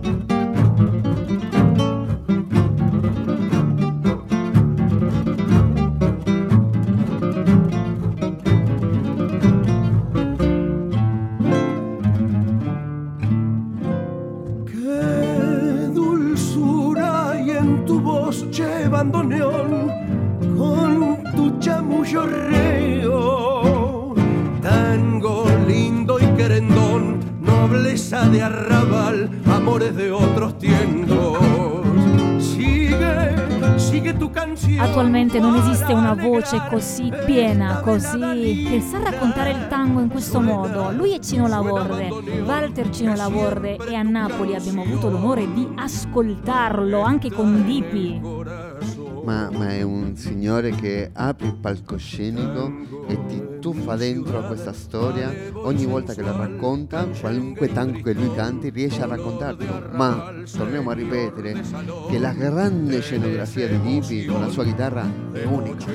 Bandoneón con tu chamullo reo, tango lindo y querendón, nobleza de arrabal, amores de otros tiempos. Sigue, sigue tu canción. Attualmente non esiste una voce così piena, così che sa raccontare il tango in questo modo. Lui è Cino Laborde, Walter Cino Laborde, e a Napoli abbiamo avuto l'onore di ascoltarlo anche con Dipi. Ma, ma è un signore che apre il palcoscenico e ti tuffa dentro a questa storia. Ogni volta che la racconta, qualunque tango che lui canti, riesce a raccontarlo. Ma torniamo a ripetere che la grande scenografia di Dipi con la sua chitarra è unica.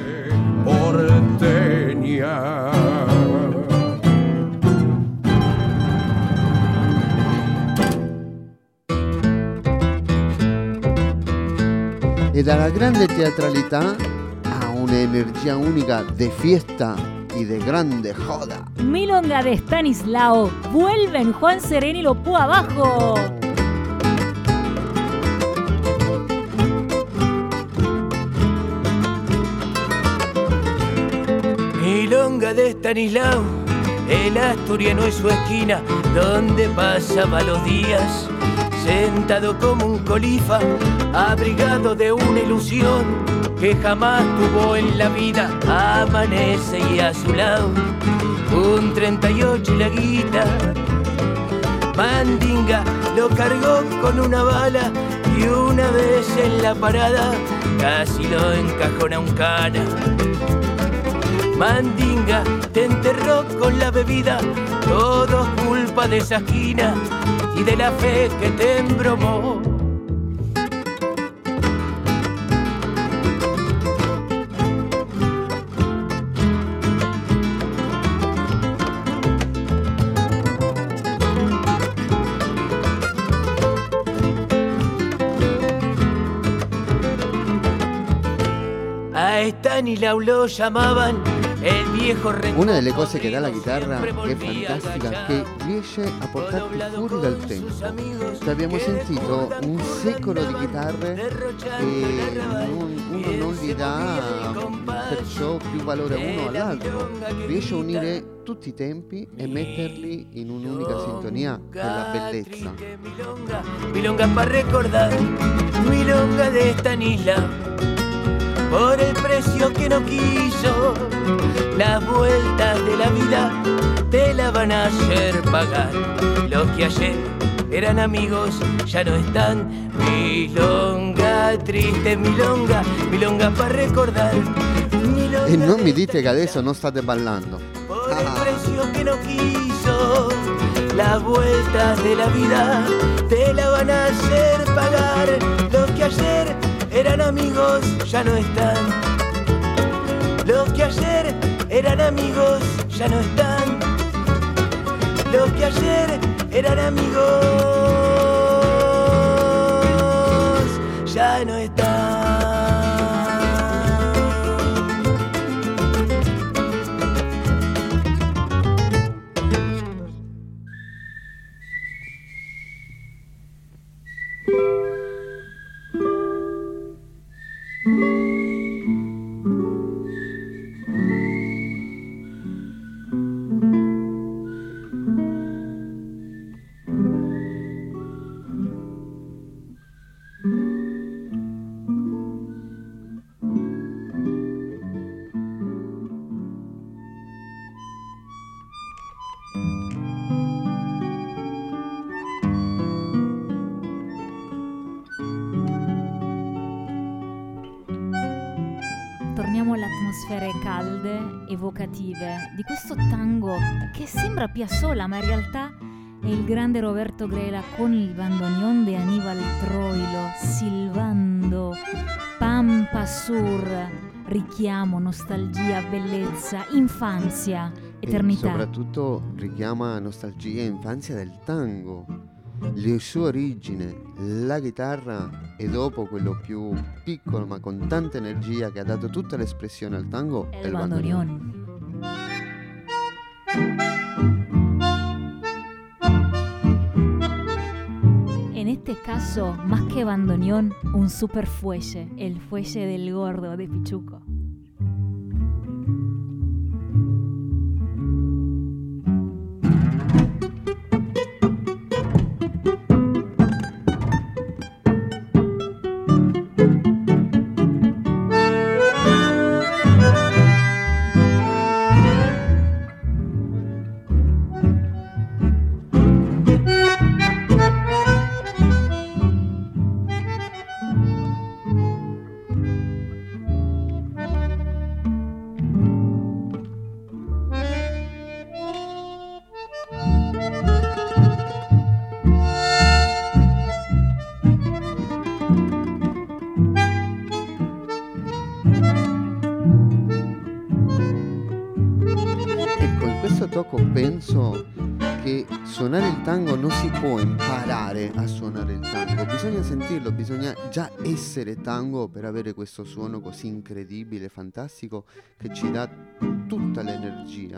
Porteña. E dalla grande teatralità a un'energia unica de fiesta y de grande joda. Milonga de Stanislao, vuelven Juan Sereni lo pu abajo. Milonga de Stanislao, el asturiano en su esquina, donde pasaba los días, sentado como un colifa, abrigado de una ilusión que jamás tuvo en la vida. Amanece y a su lado un treinta y ocho y la guita. Mandinga lo cargó con una bala y una vez en la parada casi lo encajona un cana. Mandinga te enterró con la bebida, todo culpa de esa esquina y de la fe que te embromó. A Stanislao lo llamaban el viejo rencor. Una delle cose che dà la chitarra che è fantastica, che riesce a portarti fuori dal tempo. Cioè, abbiamo sentito un secolo di chitarre e non, uno non gli dà per ciò più valore a uno o all'altro, riesce a unire tutti i tempi e metterli in un'unica sintonia, che è la bellezza. Milonga, milonga para recordar, milonga de esta isla, por el precio que no quiso, las vueltas de la vida te la van a hacer pagar. Los que ayer eran amigos ya no están. Milonga, triste milonga, milonga para recordar. Milonga E non mi dite che adesso non state ballando. por el precio que no quiso, las vueltas de la vida te la van a hacer pagar. Los que ayer eran amigos ya no están. Los que ayer eran amigos ya no están. Los que ayer eran amigos ya no están. Torniamo alle atmosfere calde, evocative di questo tango che sembra Piazzolla, ma in realtà è il grande Roberto Grela con il bandoneon di Aníbal Troilo, silvando Pampa Sur, richiamo, nostalgia, bellezza, infanzia, eternità. E soprattutto richiama nostalgia e infanzia del tango, le sue origini, la chitarra e dopo quello più piccolo ma con tanta energia che ha dato tutta l'espressione al tango è il bandoneon. En este caso, más que bandoneón, un super fuelle, el fuelle del gordo de Pichuco. Penso che suonare il tango non si può imparare a suonare il tango, bisogna sentirlo, bisogna già essere tango per avere questo suono così incredibile, fantastico, che ci dà tutta l'energia.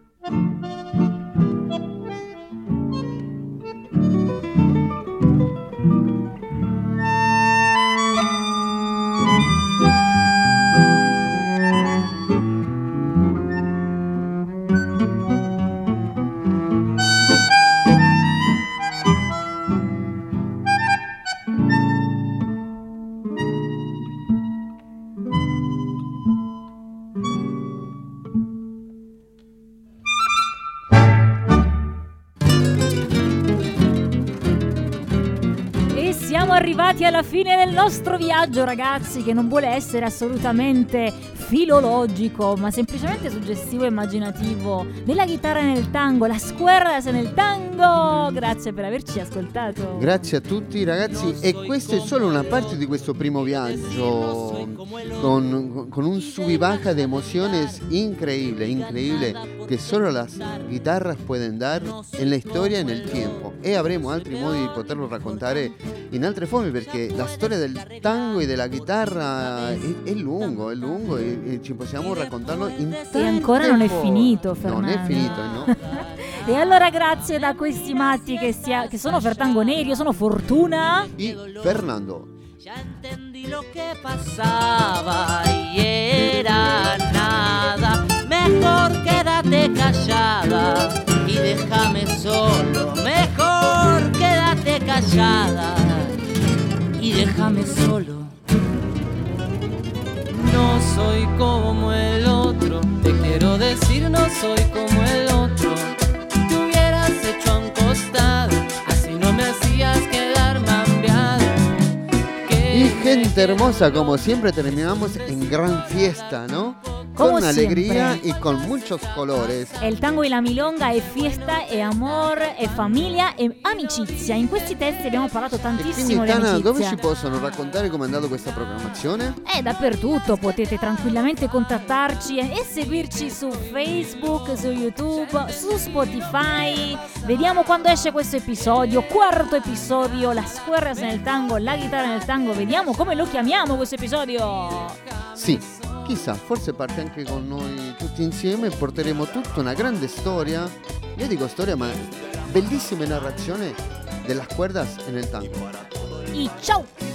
Arrivati alla fine del nostro viaggio, ragazzi, che non vuole essere assolutamente filologico, ma semplicemente suggestivo e immaginativo della chitarra nel tango, la squerras nel tango. Grazie per averci ascoltato. Grazie a tutti, ragazzi, e questa è solo una parte di questo primo viaggio con, con un sub y baja de emociones increíble, increíble, che solo las guitarras pueden dar en la storia e nel tempo, e avremo altri modi di poterlo raccontare in altre forme, perché la storia del tango e della chitarra è, è lungo, è lungo e, e ci possiamo raccontarlo in tante E ancora non è forme. finito, Fernando. Non è finito, no? E allora grazie da questi matti che, sia, che sono Fertango Neri, io sono Fortuna e Fernando. Ya entendí lo que pasaba y era nada. déjame solo, mejor quédate callada y déjame solo. No soy como el otro, te quiero decir, no soy como el otro. Te hubieras hecho a un costado, así no me hacías quedar mambiado. Y gente hermosa, como siempre terminamos en gran fiesta, ¿no? Como con alegría siempre. y con muchos colores. Il tango e la milonga è fiesta, è amore, è famiglia, è amicizia. In questi testi abbiamo parlato tantissimo Quindi di Tana, dove amicizia. ci possono raccontare come è andata questa programmazione? È dappertutto, potete tranquillamente contattarci e seguirci su Facebook, su YouTube, su Spotify. Vediamo quando esce questo episodio, quarto episodio, las cuerdas nel tango, la chitarra nel tango. Vediamo come lo chiamiamo questo episodio. Sì, chissà, forse parte anche con noi tutti insieme e porteremo tutta una grande storia, io dico storia ma bellissime narrazioni della cuerdas e nel tango. E ciao!